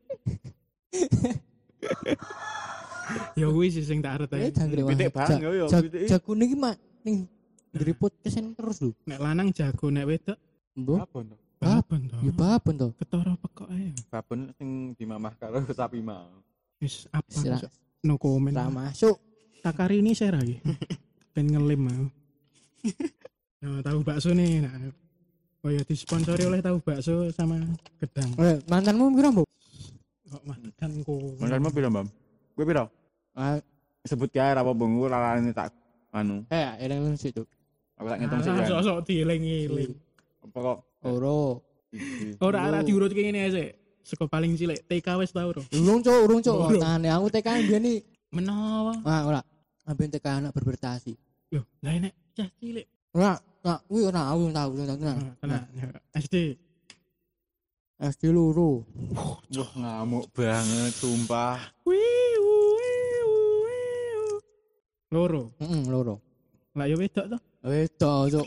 Ya kuwi sih sing tak eh arep. jangkrik Pitik bang, yo yo, pitik. Jakune iki mak ning Dari podcast ini terus lho. Nek lanang jago, nek wedok Mbok. Babon to. babon to. Ya babon to. Ketara pekok ae. Babon sing dimamah karo sapi mau. Wis apa? Sira- Cok? No comment. Ra masuk. Takari ini saya lagi. Ben ngelim mau. Nah, tahu bakso nih. Nah. Oh ya disponsori oleh tahu bakso sama gedang. Eh, mantanmu piro, Mbok? Kok mantanku. Mantanmu piro, Mbam? Kowe piro? Ah, Sebut kae ra apa-apa ngku lalane tak anu. eh, eling lu situ. Aku tak ngitung sih Ah, ya. sok-sok dieling-eling. Apa kok? Oro. Iki. Ora ora diurut kayak ngene ae. Seko paling cilik T K wis tau ro. Urung, Cuk, urung, Cuk. Urung. Tane aku T K biyen iki. Menawa. Ah, ora. Ambil T K anak berprestasi. Loh, lah nek cah cilik. Ora, nah, kuwi ora aku tahu, tahu tenan. Ah, Tenang. ya. S D. S D loro. Wah, ngamuk banget sumpah. Wiu, wiu, wiu. Loro. Heeh, loro. Lah ya wedok to. Wedok, Cuk.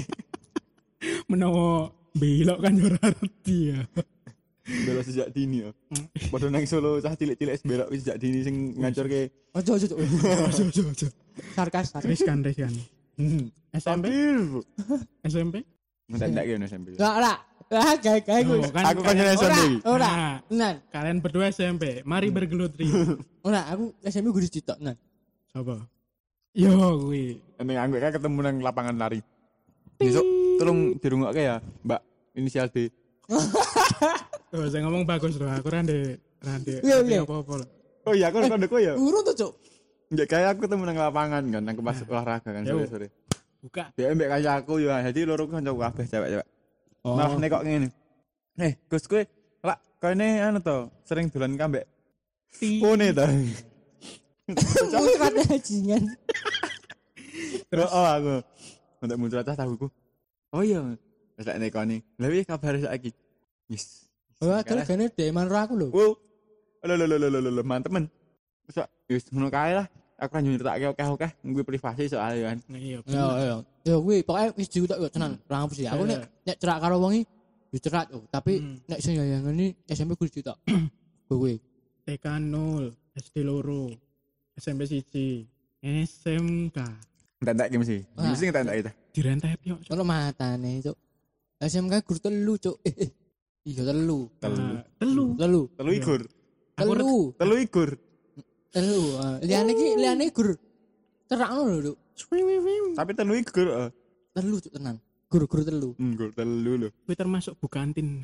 Menawa belok kan yo ora ngerti ya. Belok sejak dini ya. Padha nang Solo cah cilik-cilik wis belok wis sejak dini sing ngancurke. Ojo, ojo, Cuk. Ojo ojo ojo. Sarkas, sarkas. Riskan riskan. S M P? Tampil. S M P? Ngentek kene S M P. Enggak, ora. Ah, gawe gawe gue. Oh, Aku kan kalian- S M P. Ora, ora. Nah, Tenan. kalian berdua S M P. Mari bergelut rio. Ora, aku S M P gue dicetok, tenan. Coba. Yo kuwi. Ning anggo kae ketemu nang lapangan lari. Besok tolong dirungokke ya, Mbak. Inisial D. Tuh, saya ngomong bagus loh. Aku rande rande. Iya, iya. Apa-apa. Oh iya, aku kode kowe ya. Urung tuh, Cuk. Enggak kayak aku ketemu nang lapangan kan, nang pas olahraga kan Yo. sore-sore. Buka. Dia mbek kancaku ya, jadi loro ku kancaku kabeh cewek-cewek. Malah nek kok ngene. Eh, Gus kowe lak kene anu to, sering dolan kambek. Pone to. Muncrat bajingan. Terus oh aku. Untuk muncul atas tahuku. Oh iya. Wis lek nekoni. Lah piye kabar saiki? Wis. Wah, terus gane dek manro aku lho. Wow. Lho lho lho lho lho lho mantemen. Wis wis ngono kae lah. Aku kan nyritake oke-oke kuwi privasi soalnya kan. Nah, iya. Yo yo. Yo kuwi pokoke wis diutak yo tenan. Ora ngapus ya. Aku nek nek cerak karo wong iki yo cerak yo, tapi Hmm. nek sing yayangane S M P kudu diutak. Kuwi. T K nol, S D loro, S M P siji, S M K. Entek-entek mesti. Wah. Mesti entek-entek itu. Direntet yo. Cok. Ono matane, Cuk. S M K guru telu, Cuk. Eh, eh. Iya telu. Telu. Nah, Telu. Telu. Telu igur. Aku Telu. Telu igur. Telu. ah. Liyane iki liyane guru. Terakno lho, Cuk. Tapi telu igur. heeh. Telu, Cuk, tenan. Guru-guru telu. Igur telu lho. Kuwi termasuk bukantin.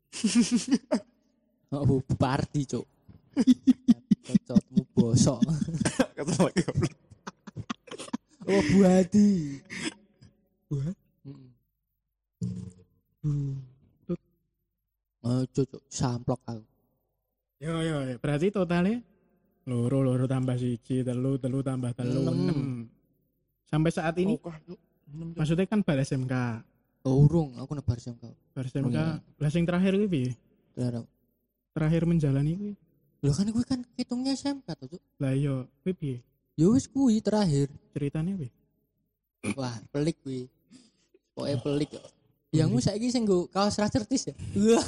Oh, Bu Bu Pardi, Cuk. Cocotmu bosok. Ketemu lagi goblok. Oh, Bu Hadi. Buat. Oh, Cuk, samplok aku. Yo yo, yo. Berarti totalnya loro loro tambah siji, telu telu tambah telu Enam. enam. Sampai saat ini maksudnya kan bar S M K. Oh, urung, aku nebar S M K. Bar S M K. Oh, iya. Lah sing terakhir kuwi piye? Larang. Terakhir menjalani kuwi. Lho kan kuwi kan hitungnya S M K to, Cuk. Lah iya, kuwi piye? Ya wis kuwi terakhir. Ceritanya piye? Wah, pelik kuwi. Pokoke pelik kok. Yang saiki sing nggo kaos racertis ya. Wah.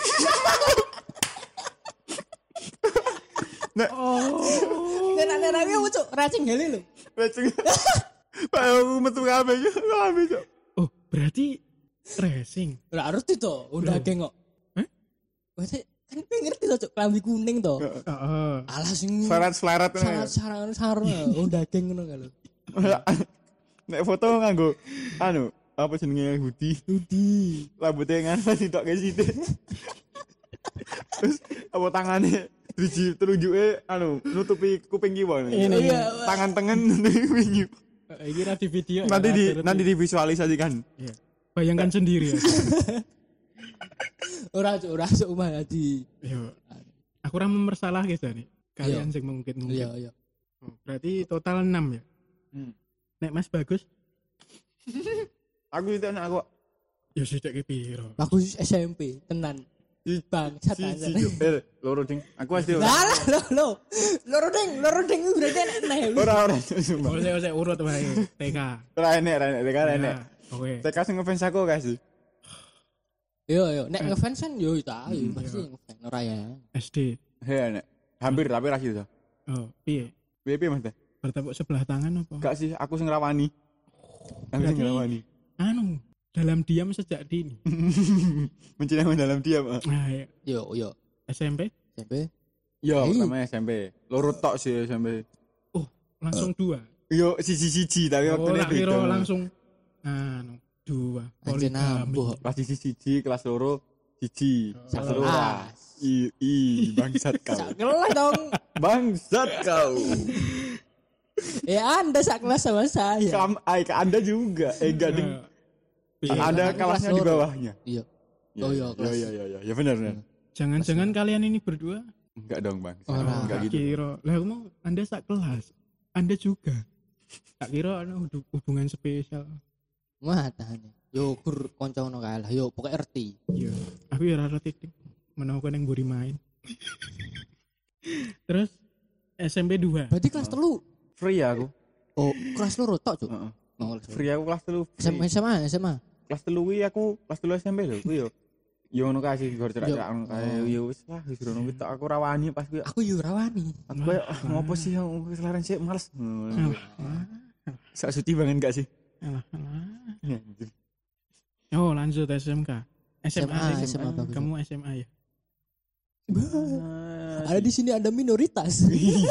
Oh. Nenek-nenek aku, Cuk, racing gale lho. Beceng. Pak aku metu kabeh yo. Kabeh yo. Oh, berarti racing. Ora ngerti to, udah geng kok. Hah? Berarti kan kowe ngerti to, Cuk, klambi kuning to. Heeh. Alah sing Selarat-selarat sangat sarang sarung udah geng ngono kan lho. Nek foto nganggo anu, apa jenenge hoodie. Dudi. Rambutnya ngana ditokke sithik. Terus apa tangane driji telunjuke anu nutupi kuping kiwa. Ini. Iya. Tangan tengen nutupi kuping kiwa. Iki ra di video. Nanti ya, di ngerti. nanti divisualisasikan. Iya. Bayangkan sendiri ya. Ora, Cuk, ora Cuk Umar Hadi. Yo. Aku ora mempersalah guys nih. Kalian sing mungkin-mungkin. Iya, iya. Oh, berarti total enam ya. Hmm. Nek Mas bagus, Aku itu anak aku. ya sithik ki piro. Aku S M P, tenan. Bang, Si satan. si si. Eh, loro ding. Aku S D ora. Lah, lo lo. Loro ding, loro ding kuwi berarti enak neh. Ora ora sumpah. Ose ose urut wae T K. Ora enek, ora enek, ora enek. Nah, Oke. T K sing ngefans aku guys. Yo yo, nek ngefans kan yo itu ayo Hmm, pasti iya. ngefans ora ya. S D. He enek. Hampir tapi ra gitu. Oh, piye? Piye piye Mas? Bertepuk sebelah tangan apa? Gak sih, aku sing rawani. Aku sing Berarti- ngrawani. Anu, dalam diam sejak dini. Mencintai dalam diam. ah. Nah, ya. Yo yo. S M P S M P. Yo, Hei. namanya S M P. Loro tok sih S M P. langsung dua. Yo siji-siji tapi Oh, waktunya tak kira beda. langsung anu, dua. Anjir Poligami. nambuh. Kelas siji siji, kelas loro siji. Oh. Kelas loro. Kelas. I, i bangsat kau. Sak kelas dong. Bangsat kau. Ya Anda sak kelas sama saya. Kam, ay, ke Anda juga. Eh enggak ding. Iya. Anda Aku kelasnya kelas di loro. bawahnya. Iya. Ya, Oh, iya, ya, kelas. ya, ya, ya, ya benar benar. Jangan-jangan kalian ini berdua Enggak dong, Bang. Ora. Enggak tak gitu. kira. Lah aku mau Anda sak kelas. Anda juga. Tak kira ana hubung- hubungan spesial. Wah, tahan. Yo gur kanca ngono kae lah. Yo pokoke R T. Iya. Aku ya ora titik. Menawa yang mburi main. Terus S M P dua. Berarti kelas telu. Free ya aku. Oh, kelas loro tok, Cuk. Heeh. Oh, kelas loro. Free aku kelas telu. S M A S M A S M A. Kelas telu kuwi aku kelas telu S M P lho kuwi yo. Yo ngono kae sih gor Yo. cerak-cerak ngono kae. Oh. Yo wis lah wis ngono kuwi tok aku rawani pas kuwi. Aku yo rawani. Aku kayak ah, ngopo sih yang wis laren sih males. Alah, Sak suci banget gak sih? alah, alah. Ya, anjir. Oh, lanjut S M K. S M A, S M A bagus. Kamu S M A ya? Ada di sini ada minoritas.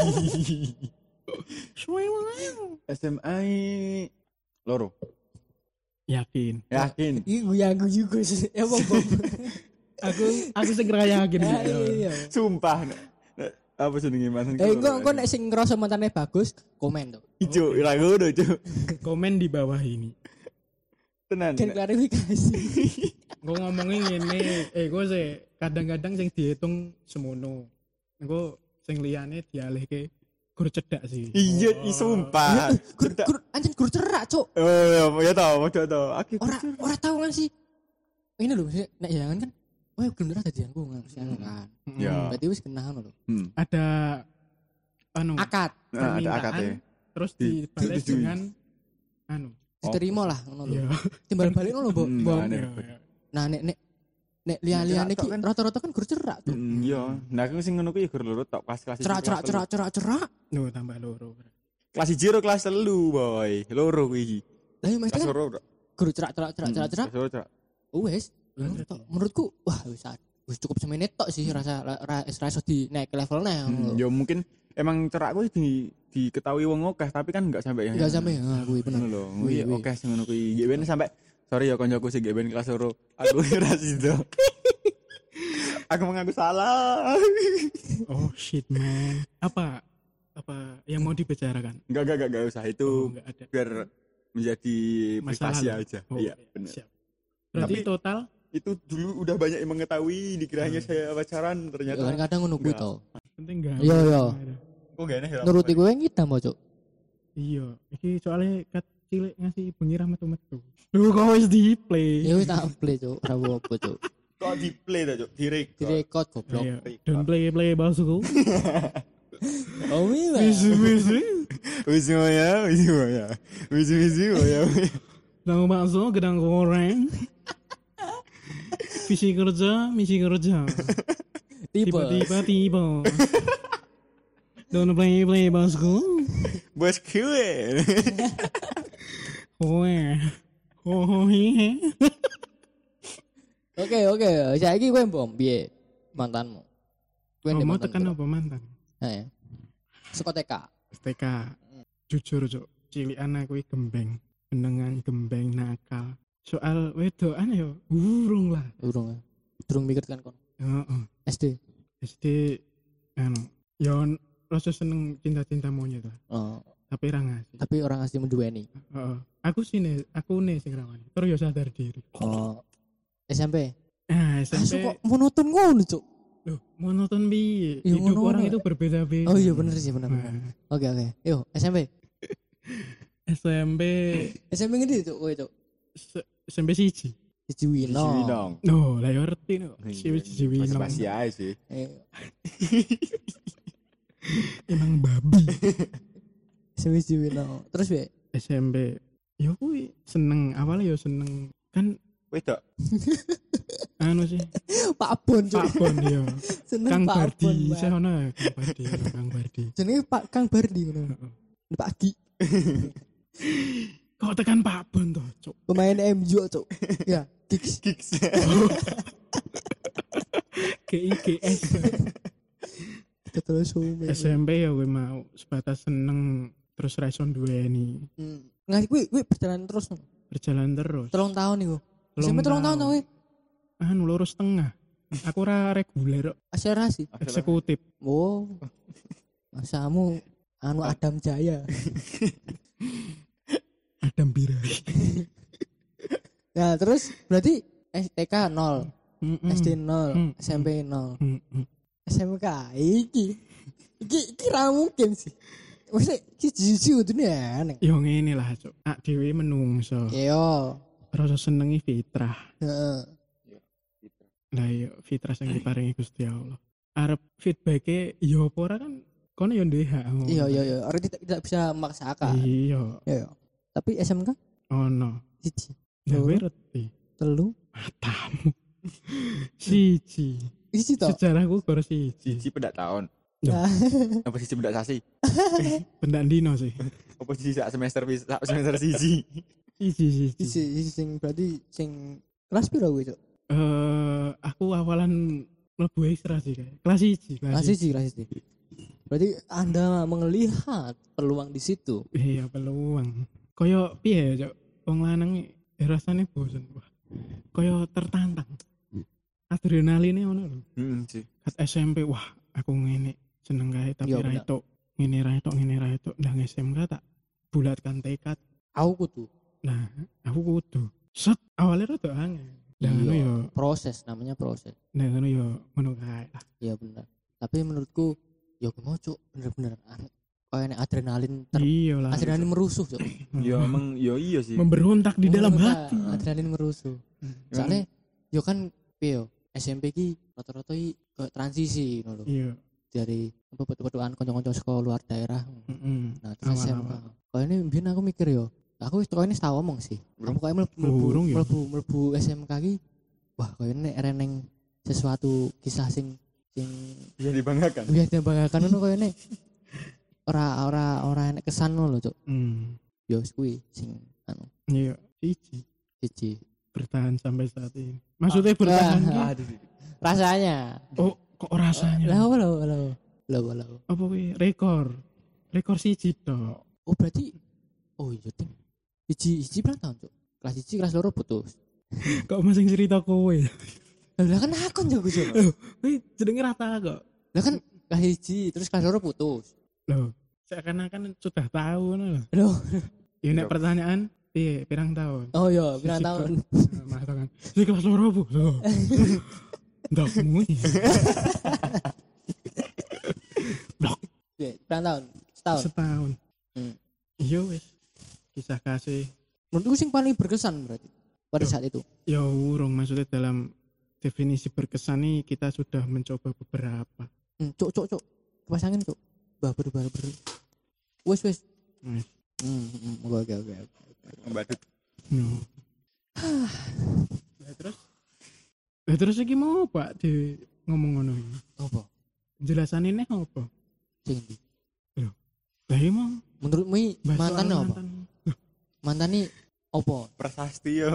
S M A loro. Yakin. Yakin. Iya, gue aku juga sih. Ya, Bang. Bang. Aku aku segera yakin. Ya, gitu. iya. Sumpah. Nek- nek- Apa jenenge mantan? Eh, kok kok nek sing ngerasa mantannya bagus, komen tuh. Ijo, ora ngono, Cuk. Komen di bawah ini. Tenan. Kan nek- klarifikasi. Gue ngomongin ini, eh gue sih kadang-kadang sing dihitung semono. Gue sing liyane dialihke gur cedak sih. Iya, i sumpah. Gur gur anjing gur cerak, Cuk. Oh, ya, ya tau, padha tau. Aku Ora ora tahu kan sih. Ini lho, maksudnya, nek jangan kan. Oh, belum pernah jadianku kan. kan. Ya. Berarti wis kenal lho. Hmm. Ada anu Akad Nah, ada permintaan, akadnya. terus Di- dibalas disetujui. dengan anu. diterima lah ngono lho. Iya. Timbal balik ngono, Mbok. Hmm, Mbok. nah, Iya, nih. iya. Nah, nek nek nek liya-liyane Cerak iki tok kan. rata-rata kan gur cerak tuh. Mm, iya. Nah, aku sing ngono kuwi ya gur loro tok kelas-kelas Cerak cerak cerak cerak cerak. Nuh, tambah loro. Kelas siji karo kelas telu, boy. Loro kuwi iki. Lah iya Kelas mesti loro. tok. gur cerak cerak cerak cerak cerak. Kelas loro cerak. Oh, wis. Ngono tok. Menurutku wah wis wis cukup semene tok sih rasa ra ra iso di naik ke levelnya ngono Hmm, lho. ya mungkin emang cerak kuwi di diketahui wong akeh tapi kan enggak sampai yang Enggak sampai ha kuwi bener. ngono lho. Wih, Kuwi wih. akeh sing ngono kuwi. Nggih ben sampai sorry ya koncoku sing nggih ben kelas loro. Aku ora sido. Aku mengaku salah. Oh shit man. Apa apa yang mau dibicarakan? Enggak enggak enggak, enggak usah itu Oh, enggak ada. biar menjadi Masalah privasi lalu. aja. Oh, Iya, benar. siap. Berarti Tapi- total Itu dulu udah banyak yang mengetahui dikiranya saya pacaran Ya ternyata. kan kadang ngono kuwi Enggak. to. penting enggak? Iya, iya. Kok gak enak ya? Nuruti kowe ngidam mo, Cuk. Iya, iki soalnya kat cilik ngasih bengi metu-metu. Lu kok wis di play. Ya wis tak play, Cuk. Ora apa-apa, Cuk. Kok di play ta, Cuk? Di record. Direkod goblok. Iya. Don't play play bosku. Oh, iya. Wis wis. Wis ya, wis ya. Wis wis ya. Tahu bakso gedang goreng. Visi kerja, misi kerja. Tipe. Tiba-tiba tiba. Don't play play bosku. Bos kue. Kowe. Oh hehe. Oke, oke. Saiki kowe mbom piye mantanmu? Kowe ndek Mau mantan tekan piro? apa mantan? Heeh. Seko T K. S T K. Jujur cok, cilikan aku iki gembeng, penengan gembeng nakal. Soal wedokan yo urung lah. Urung. Durung mikir kan kon. Heeh. S D. S D anu yo rasa seneng cinta-cinta monyet lah. Oh, Tapi ra ngasih. tapi orang asli menduweni. Heeh. Aku sini, aku nih sing rawani. Terus yo sadar diri. Oh. S M P. Ah, S M P. Asu kok monoton ngono, Cuk. Loh, monoton bi. Ya, Hidup monoton. orang itu berbeda-beda. Oh iya bener sih, bener. bener. Nah, Oke, oke. Yo, S M P. S M P S M P ngendi, Cuk? Kowe, Cuk. S- S M P siji. Siji Wino. dong. No, lah yo ngerti no. Si siji wino. Masih aja sih. Eh, Emang babi. Siji Wino. Terus piye? S M P. Yo kuwi seneng, awalnya yo seneng. Kan Wedok. anu sih, Pak Bon, Cuk. Pak Bon yo. Seneng Kang Pak Bon. Bardi, Pak. saya ono ya, Kang Bardi, yo, Kang Bardi. Jenenge Pak Kang Bardi ngono. Heeh. Pak Gi. Kok Kok tekan Pak Bon toh, Cuk. Pemain M U, Cuk. Ya, gigs. Gigs. G I G S. Terus sume. S M P ya gue mau sebatas seneng terus raison duweni. Hmm. Ngasih kuwi kuwi berjalan terus. Berjalan terus. Telung tahun iku. Telung Sampai telung tahun to kowe. Anu loro setengah. Aku ora reguler kok. Akselerasi. Eksekutif. Oh. Masamu anu Adam Jaya. Adam Birai. Ya, terus berarti S T K nol, Mm-mm. S D nol, Mm-mm. S M P nol. Mm-mm. S M K iki. Iki iki ra mungkin sih. Wes iki jiji udune aneh. Yo ngene lah, Cuk. Ak dhewe menungso. Yo. Rasa senengi fitrah. Heeh. Lah yo fitrah sing diparingi Gusti Allah. Arep feedback-e yo apa ora kan kono yo duwe hak. Iya iya iya, orang tidak, tidak bisa memaksakan. Iya. Iya. Tapi S M K Ono. siji, Ya loro, ngerti. telu, Matamu. Siji. siji to. Sejarahku gor siji. Siji pedak tahun. Nah, Apa siji pedak sasi? Pendak dino sih. Apa siji sak semester wis sak semester siji? Siji siji. siji siji sing berarti sing kelas piro kuwi, Cuk? Eh, aku awalan mlebu ekstra sih kayak. Kelas siji, Kelas siji, kelas siji. Berarti Anda melihat peluang di situ. Iya, peluang. Kaya piye ya, Cuk? Wong lanang ya rasane bosen. Wah. Kaya tertantang. Adrenaline ngono lho. Heeh sih. Kat S M P wah, aku ngene seneng kae tapi Iya, ra bener. itu. Ngene ra itu, ngene ra itu. Ndang S M K tak bulatkan tekad. Aku kudu Nah, aku kudu. Set awalnya rada angel. Lah ngono Iya, ya, proses, namanya proses. nah ngono ya ngono kae lah. Iya benar. Tapi menurutku ya aku mau, Cuk, bener-bener aneh. Kayak nek adrenalin ter Iya lah. adrenalin merusuh, Cuk. Ya emang ya iya sih. Memberontak di dalam Bener-bener, hati. Adrenalin merusuh. Soalnya yo kan piye yo, S M P ki rata-rata iki ke transisi ngono lho. Iya. Dari apa petu-petuan kanca-kanca sekolah luar daerah. Heeh. Nah, terus S M K. Awal-awal. Kayak ini mbiyen aku mikir yo, aku wis ini tau ngomong sih. Aku kayak mlebu Burung ya? mlebu mlebu S M K ki wah kayak ini reneng sesuatu kisah sing sing Bisa dibanggakan. biar dibanggakan ngono kayak ini ora ora ora enek kesan ngono lho, Cuk. Hmm. Yo wis kuwi sing anu Iya, siji. siji. Bertahan sampai saat ini. Maksudnya bertahan ki? Ah, rasanya. Oh, kok rasanya? Lah apa lho lho lho lho. Apa kuwi rekor? Rekor siji tok. Oh berarti oh iya ding. Siji siji berapa tahun, Cuk? Kelas siji kelas loro putus. Kok masing cerita kowe? Lah kan akon jago, Cuk. Wih, jenenge rata kok. Lah kan kelas siji terus kelas loro putus. Loh, seakan-akan sudah tahu ngono lho. Loh. Ya nek pertanyaan, piye pirang tahun? Oh iya, pirang Siji tahun. kok. Mas kan. Si kelas loro Bu. Loh. Ndakmu. Blok Iya, pirang tahun? Setahun. setahun. Hmm. Iya wis. Kisah kasih. Menurutku sing paling berkesan berarti pada Yo. saat itu. Ya urung maksudnya dalam definisi berkesan nih kita sudah mencoba beberapa. Hmm, Cuk cuk cuk. Kipas angin, Cuk. Baber baber. Wes wes. Wis. Hmm, hmm, oke oke oke. Mbadut. No. Lah terus Lah terus iki mau Pak di ngomong ngono iki. Apa? Penjelasan ini apa? Sing ndi? Lah iki mau Menurutmu i bahas mantan soal apa? mantan. Mantan nih apa? Prasasti ya.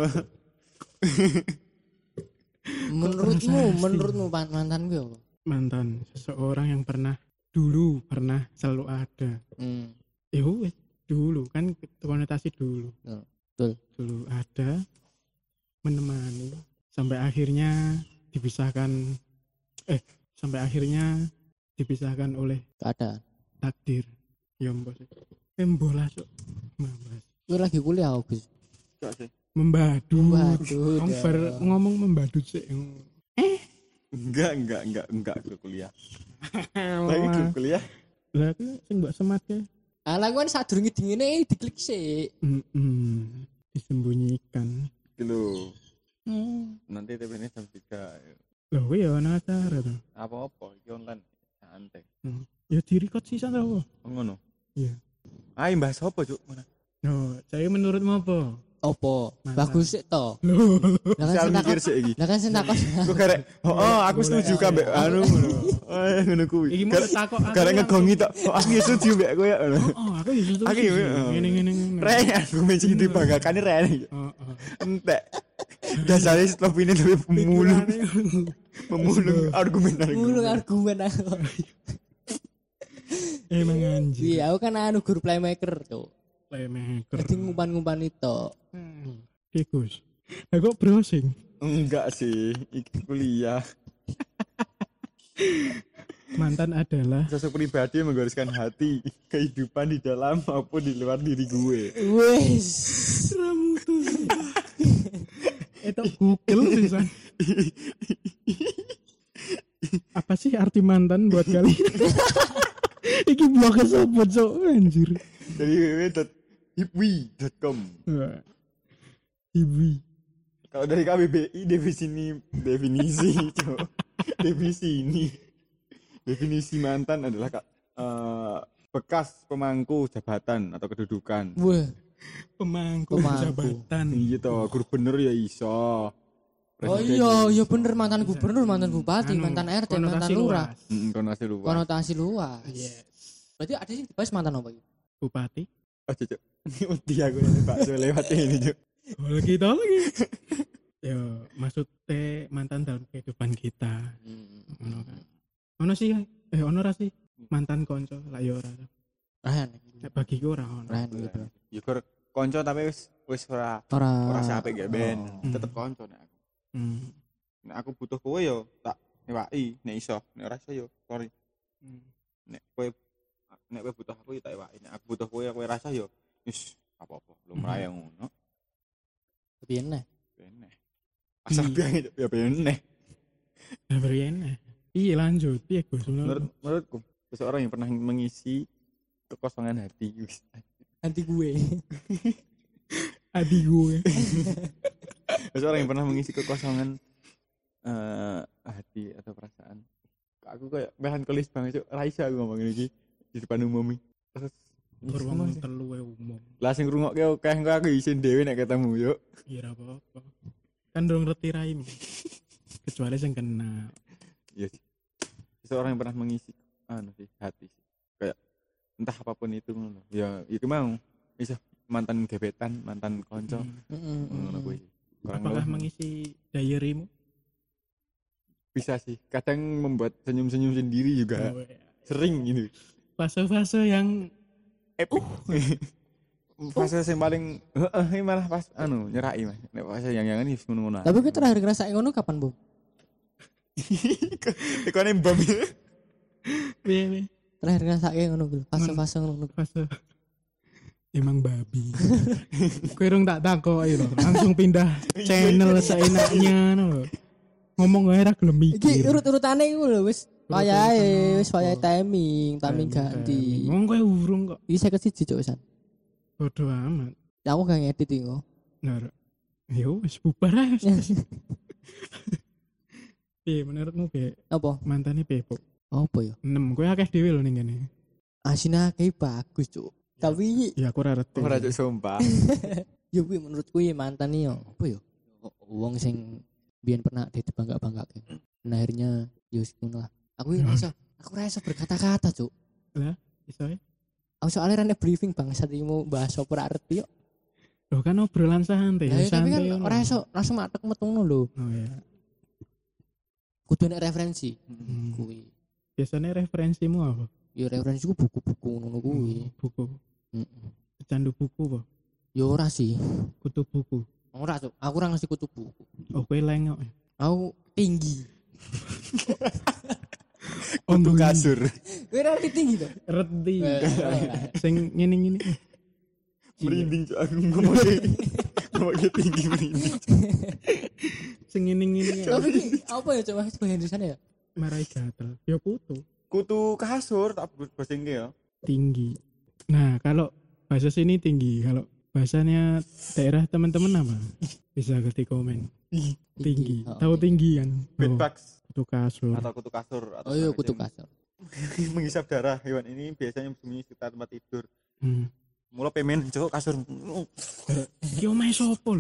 Menurutmu, prasasti? menurutmu pan- mantan gue apa? Mantan seseorang yang pernah dulu pernah selalu ada. Hmm. Ya wes dulu kan konotasi dulu. Ya, betul. Dulu ada menemani sampai akhirnya dipisahkan eh sampai akhirnya dipisahkan oleh Keadaan. takdir. Ya mbos. Embola sok. Mbas. Gue lagi kuliah aku, Gus. Enggak sih. Membadut. Membadut, Wong ya. bar ngomong membadut sih. Enggak, enggak, enggak, enggak ke kuliah. Lagi ke kuliah. Lah aku sing mbok semat ke. Alah gue saat durungi dingine diklik sih. Mm-mm. Disembunyikan. Dulu. Hmm. Nanti T V ini jam tiga. Loh kuwi ya ana acara to. Apa-apa, iki online. Santai. Hmm. Ya direkod sisan to. Oh, ngono. Iya. Ayo bahas apa, Cuk? Mana? No, saya menurutmu apa? opo? Mantan. Bagus sik to. Loh, Lah kan Saya sing mikir takon. sih iki. Lah kan sing takon. Kok garek, oh, oh aku setuju kabeh anu ngono. Oh, ngono kuwi. Iki mau Garek takok aku garek langsung. ngegongi tok. Oh, aku ya setuju mbek kowe ya. ngono. oh aku ya setuju. Aku sih. ya, oh. Ngene ngene ngene. Rene aku menci dibanggakan Rene. Oh, oh. Entek. Dasare stop ini tapi pemulung, Pikirane- pemulung argumen Mulu argumen. argumen aku. Emang anjir. Iya, aku kan anu guru playmaker, Cuk. Playmaker. Jadi ngumpan-ngumpan itu. Oke, Gus. Lah kok browsing? Enggak sih, iki kuliah. Mantan adalah Sosok pribadi yang menggariskan hati, kehidupan di dalam maupun di luar diri gue. Wes. ramutu. Itu Google sih. Apa sih arti mantan buat kalian? Iki blog sopo cok anjir. Dari w w w dot hipwi dot com. Ibu. Kalau dari K B B I definisi ini definisi, Cok. Definisi ini. Definisi mantan adalah uh, bekas pemangku jabatan atau kedudukan. Wah. Pemangku, Pemangku. jabatan. Iya toh, gubernur ya iso. Oh iya, iya bener mantan gubernur, mantan bupati, Anu, mantan R T, mantan konotasi lurah. luas. Heeh, konotasi luas. Konotasi luas. Yes. Berarti ada sih dibahas mantan apa gitu? Bupati. Oh, Cok. Ini uti aku ini Pak so lewat ini, Cok. Oh, lagi tau lagi. Yo, maksudnya mantan dalam kehidupan kita. Ono kan. Ono sih, eh ono ra sih mantan konco lah yo ora. Rahan. Nek bagiku ora ono. Rahan gitu. Ya kur konco tapi wis wis ora Ora ora sampe gak ben. Oh. Tetep konco nek aku. Hmm. Nek aku butuh kowe yo tak ewaki, nek iso, nek ora iso yo sorry. Hmm. Nek kowe nek kowe butuh aku ya tak ewaki, nek aku butuh kowe kowe rasa yo wis apa-apa, lumrah yang ngono. Piye neh? Beneh. Asal biang ya beneh. Nah, berian. Iya lanjut, iya Gus. Menurut menurutku seseorang yang pernah mengisi kekosongan hati. Anti gue. Adi gue. Seseorang yang pernah mengisi kekosongan eh hati atau perasaan. Aku kayak melankolis banget, Cuk. Raisa aku ngomong iki di depan umum iki. Terus Kurang telu e umum. lah sing ngrungokke akeh engko aku isin dhewe nek ketemu, Cuk. Iya ra apa-apa. Kan durung ngerti raimu. Kecuali sing kenal. Iya sih. Seseorang yang pernah mengisi anu sih hati sih. Kayak entah apapun itu ngono. Ya itu mau bisa mantan gebetan, mantan konco. Heeh. Ngono kuwi. Kurang Apakah lebih mengisi diarymu? bisa sih. Kadang membuat senyum-senyum sendiri juga. Oh, iya. Sering gitu. Fase-fase yang Epic. Fase yang paling heeh malah pas anu nyerai Mas. Nek fase yang yang ini ngono-ngono. Tapi gue terakhir ngerasain ngono kapan, Bu? Ikone mbam. piye piye? Terakhir ngerasain ngono gue. Fase-fase ngono. Fase emang babi. Kowe rung tak takoki lho, langsung pindah channel seenaknya lho. Ngomong wae ra gelem Iki mikir. urut-urutane iku lho wis wayahe, wis wayahe timing, timing ganti. Ngomong kowe urung kok. Iki seket siji cuk wisan. Bodoh amat. Ya aku gak ngedit iki kok. Nah, yo wis bubar ae. Piye menurutmu piye? Apa? Mantane piye, Pok? Apa ya? enam kowe akeh dhewe lho ning kene. Asina kayak bagus cuk. Tapi Ya aku ora ngerti. Ora cuk sumpah. ya kuwi menurutku ya mantan iki yo. Apa ya? Wong sing biyen pernah dibangga-banggake. Nah akhirnya yo ngono lah. Aku ora iso, aku ora iso berkata-kata cuk. Lah, iso ya? Aku soalnya rene briefing bang saat ini mau bahas apa ora arti yo. Loh kan obrolan santai, Lah ya, tapi kan santai. ngono. ora iso langsung matek metungno lho. Oh ya. Kudu nek referensi. Hmm. Kuwi. Biasanya referensimu apa? Ya referensiku buku-buku ngono kuwi. Buku. Heeh. Pecandu buku apa? Ya ora sih. Kutu buku. Ora cuk. Aku ora ngasih kutu buku. Oh kowe lengok. Aku tinggi. Untuk kasur. Kowe ora tinggi to? Reti. Eh, Sing ngene-ngene. Merinding cuk aku ngomongnya. Ngomongnya tinggi merinding. Sing ngene-ngene. Tapi iki apa ya coba sebagian di sana ya? Marai gatel. Ya kutu. Kutu kasur tak bahasa Inggris ya. Tinggi. Nah, kalau bahasa sini tinggi, kalau bahasanya daerah teman-teman apa? Bisa ketik komen. Tinggi. Oh, Tahu oke. tinggi kan? Oh, Bedbugs kutu kasur. atau kutu kasur atau Oh iya apa kutu macam. kasur. Menghisap darah hewan ini biasanya bersembunyi sekitar tempat tidur. Hmm. Mula pemen cuk kasur. Iki omahe sopo lho?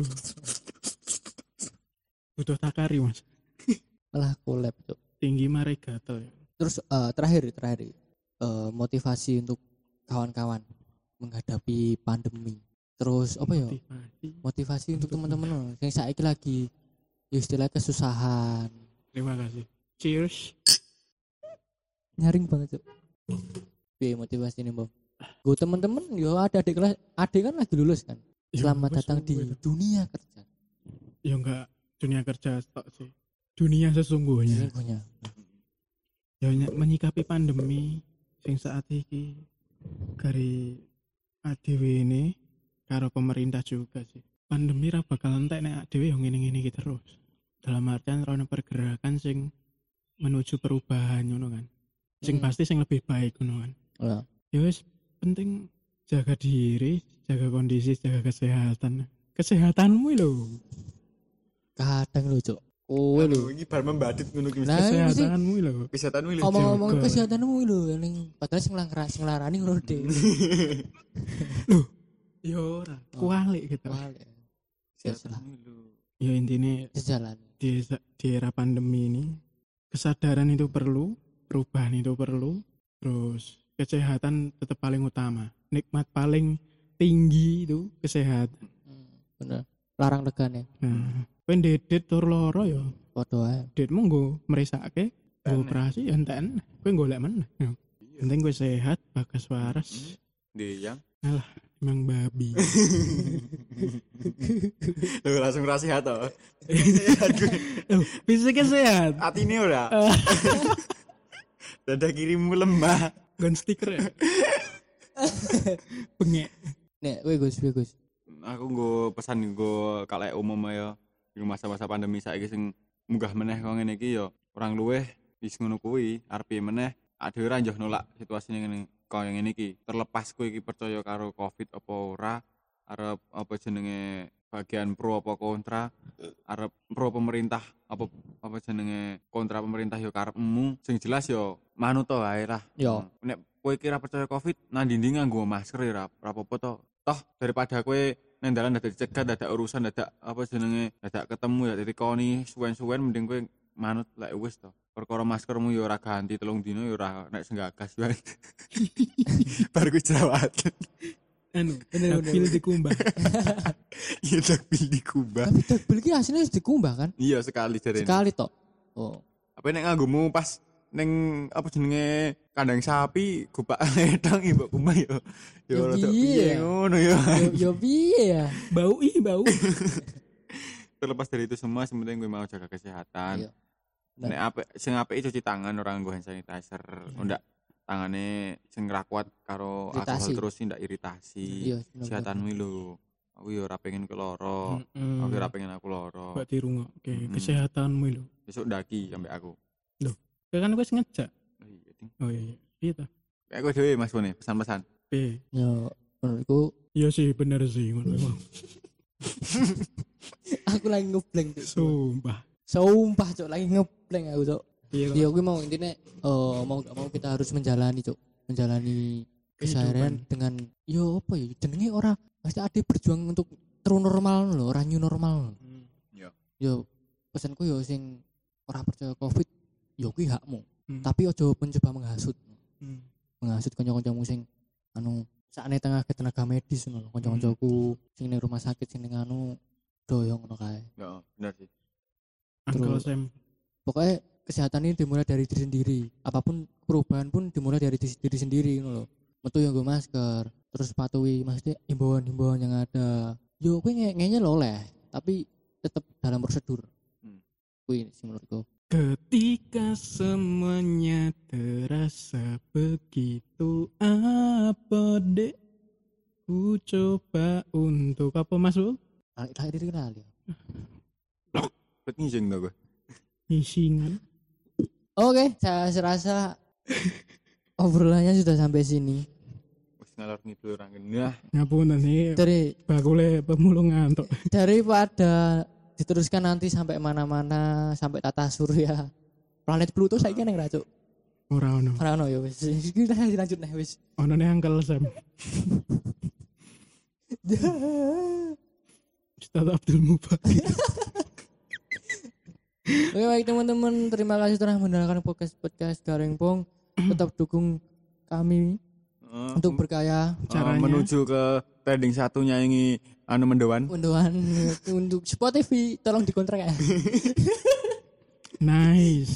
Butuh takari, Mas. Malah collab, Cuk. Tinggi mare gatel. Terus uh, terakhir terakhir uh, motivasi untuk kawan-kawan menghadapi pandemi. Terus apa ya? Motivasi. Motivasi untuk teman-teman yang saiki lagi ya istilah kesusahan. Terima kasih. Cheers. Nyaring banget, Cuk. Piye motivasi ini, Bang? Gue teman-teman yo ada adik kelas, adik kan lagi lulus kan. Selamat ya, datang di wes. Dunia kerja. Ya enggak dunia kerja stok sih. Dunia sesungguhnya. Sesungguhnya. Ya menyikapi pandemi sing saat iki dari A D W ini karo pemerintah juga sih. Pandemi ra bakal entek nek A D W yo ngene-ngene iki terus. Dalam artian rono pergerakan sing menuju perubahan ngono kan. Sing hmm. pasti sing lebih baik ngono kan. Ya. Ya wis penting jaga diri, jaga kondisi, jaga kesehatan. Kesehatanmu lho. Kadang lho, Cuk. Kowe lho iki bar membadit ngono ki. Nah, kesehatanmu lho. Kesehatanmu lho. Ngomong-ngomong kesehatanmu lho ning padahal sing langkara sing larani ngono dhewe. Lho, ya ora. Kualik gitu. Kualik. Kesehatanmu lho. Ya intine sejalan. Di, di era pandemi ini kesadaran itu perlu, perubahan itu perlu, terus kesehatan tetap paling utama. Nikmat paling tinggi itu kesehatan. Hmm, bener. Larang legane. Nah, kowe ndedet tur loro ya padha ae. Dedmu nggo mresake, nggo operasi enten. Kowe golek meneh. Penting kowe sehat, bagas waras. Ndeyang. Alah, emang babi. Loh langsung ra sehat to. Loh, fisiknya sehat. Atine ora. Dada kirimu lemah. Gun stiker ya. Bengek. Nek kowe Gus, kowe Gus. Aku nggo pesan nggo kalek umum ya di masa-masa pandemi saiki sing munggah meneh kok ngene iki ya orang luweh wis ngono kuwi arep meneh ade ora njoh nolak situasine ngene kaya ngene iki terlepas kowe iki percaya karo Covid apa ora arep apa jenenge bagian pro apa kontra arep pro pemerintah apa apa jenenge kontra pemerintah ya karepmu sing jelas ya manut to ae lah. Yo. Nek kowe kira percaya Covid nandi-ndi nganggo masker ya ora apa-apa to. Toh daripada kowe nang dalan dadak dicegat, dadak urusan, dadak apa jenenge, dadak ketemu ya ditikoni suwen-suwen mending kowe manut lek wis to. Perkara maskermu ya ora ganti telung dino ya ora nek senggagas wae. Bar ku jerawat. Anu, dakbil dikumbah. Iya dakbil dikumbah. Tapi dakbil ki asline wis dikumbah kan? Iya sekali jarene. Sekali tok. Oh. Apa nek nganggomu pas ning apa jenenge kandang sapi gupak ledang ibu kumbah yo yo rada piye ngono yo yo piye ya bau ih bau. Terlepas dari itu semua yang penting gue mau jaga kesehatan. Nek apik sing apik cuci tangan orang nggo hand sanitizer ndak tangane sing ra kuat karo alkohol terus ndak iritasi. Kesehatanmu lho. Aku yo ora pengen keloro. Aku ora pengen aku loro. Mbak dirungokke kesehatanmu lho. Besok ndaki ambek aku. Lho, kan wis ngejak. Oh iya, Ding. Oh iya, iya ta. Kayak kowe dhewe Mas Bone, pesan-pesan. Piye? Yo, menurutku iya sih bener sih ngono emang. Aku lagi ngeblank tuh. Sumpah. Sumpah, Cuk, lagi ngeblank aku, Cuk. Iya. Ya gue mau intinya oh, mau gak mau kita harus menjalani, Cuk. Menjalani keseharian dengan yo apa ya jenenge ora pasti ada berjuang untuk true normal lho, ora new normal. Hmm. Yo. Yo pesanku yo sing ora percaya Covid yo kuwi hakmu. Hmm. Tapi ojo mencoba menghasut. Hmm. Menghasut kanca-kancamu sing anu sakne tengah tenaga medis ngono, kanca-kancaku sing ning rumah sakit sing ning anu doyong ngono kae. Heeh, bener sih. Uncle Sam. Pokoknya kesehatan ini dimulai dari diri sendiri. Apapun perubahan pun dimulai dari diri sendiri ngono lho. Metu yo nggo masker, terus patuhi maksudnya himbauan-himbauan yang ada. Yo kowe ngene lho oleh, tapi tetap dalam prosedur. Hmm. Kuwi sih menurutku. Ketika semuanya terasa begitu apa dek, ku coba untuk apa masuk? Lahir diri kali. Bet ngijing dah gue. Ngisingan. Oke, saya serasa obrolannya sudah sampai sini. Wis ngalor ngidul orang ini. Ngapunten nih. Dari bakule pemulung ngantuk. Daripada diteruskan nanti sampai mana-mana sampai tata surya planet Pluto saiki nang ra, Cuk. Ora ono. Ora ono ya wis. Kita lanjut nih wis. Ono nih Uncle Sam. Ustaz Abdul Mubarak. Oke baik teman-teman, terima kasih telah mendengarkan podcast podcast Garing Pong. Tetap dukung kami Uh, untuk berkaya. uh, Caranya? menuju ke trending satunya ini anu mendewan. Unduhan untuk Spotify tolong dikontrak ya. Nice.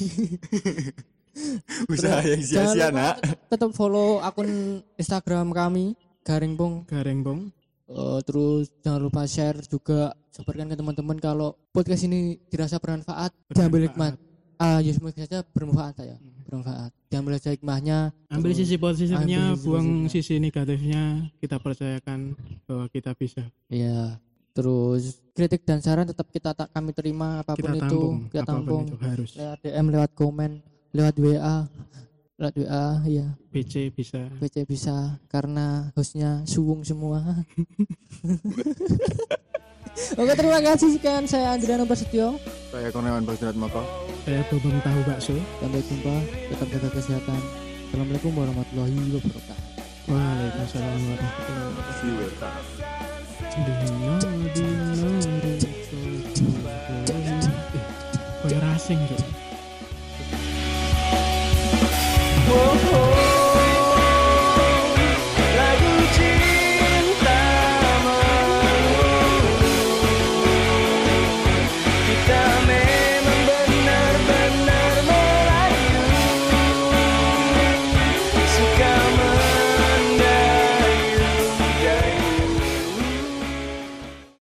Usaha yang Jangan sia-sia lupa nak. tetap, tetap follow akun Instagram kami Garing Pong. Garing Pong. Uh, terus jangan lupa share juga, sebarkan ke teman-teman kalau podcast ini dirasa bermanfaat, diambil hikmat. Ah, ya semoga saja bermanfaat saya. Bermanfaat. Diambil saja hikmahnya. Ambil terus sisi positifnya, ambil sisi buang positifnya. sisi negatifnya. Kita percayakan bahwa kita bisa. Iya. Terus kritik dan saran tetap kita tak kami terima apapun Kita itu, tampung. kita Apapun tampung. itu harus. Lewat D M, lewat komen, lewat W A. Lewat W A, iya. B C bisa. B C bisa karena hostnya suwung semua. Oke, terima kasih sekian, saya Andriano Prasetyo. Saya Kurniawan Basudrat Moko. Saya Bobong Tahu Bakso. Sampai jumpa, tetap jaga kesehatan. Assalamualaikum warahmatullahi wabarakatuh. Waalaikumsalam warahmatullahi wabarakatuh. See you later. Dino, dino, dino, dino. Eh, koyo racing, Cuk.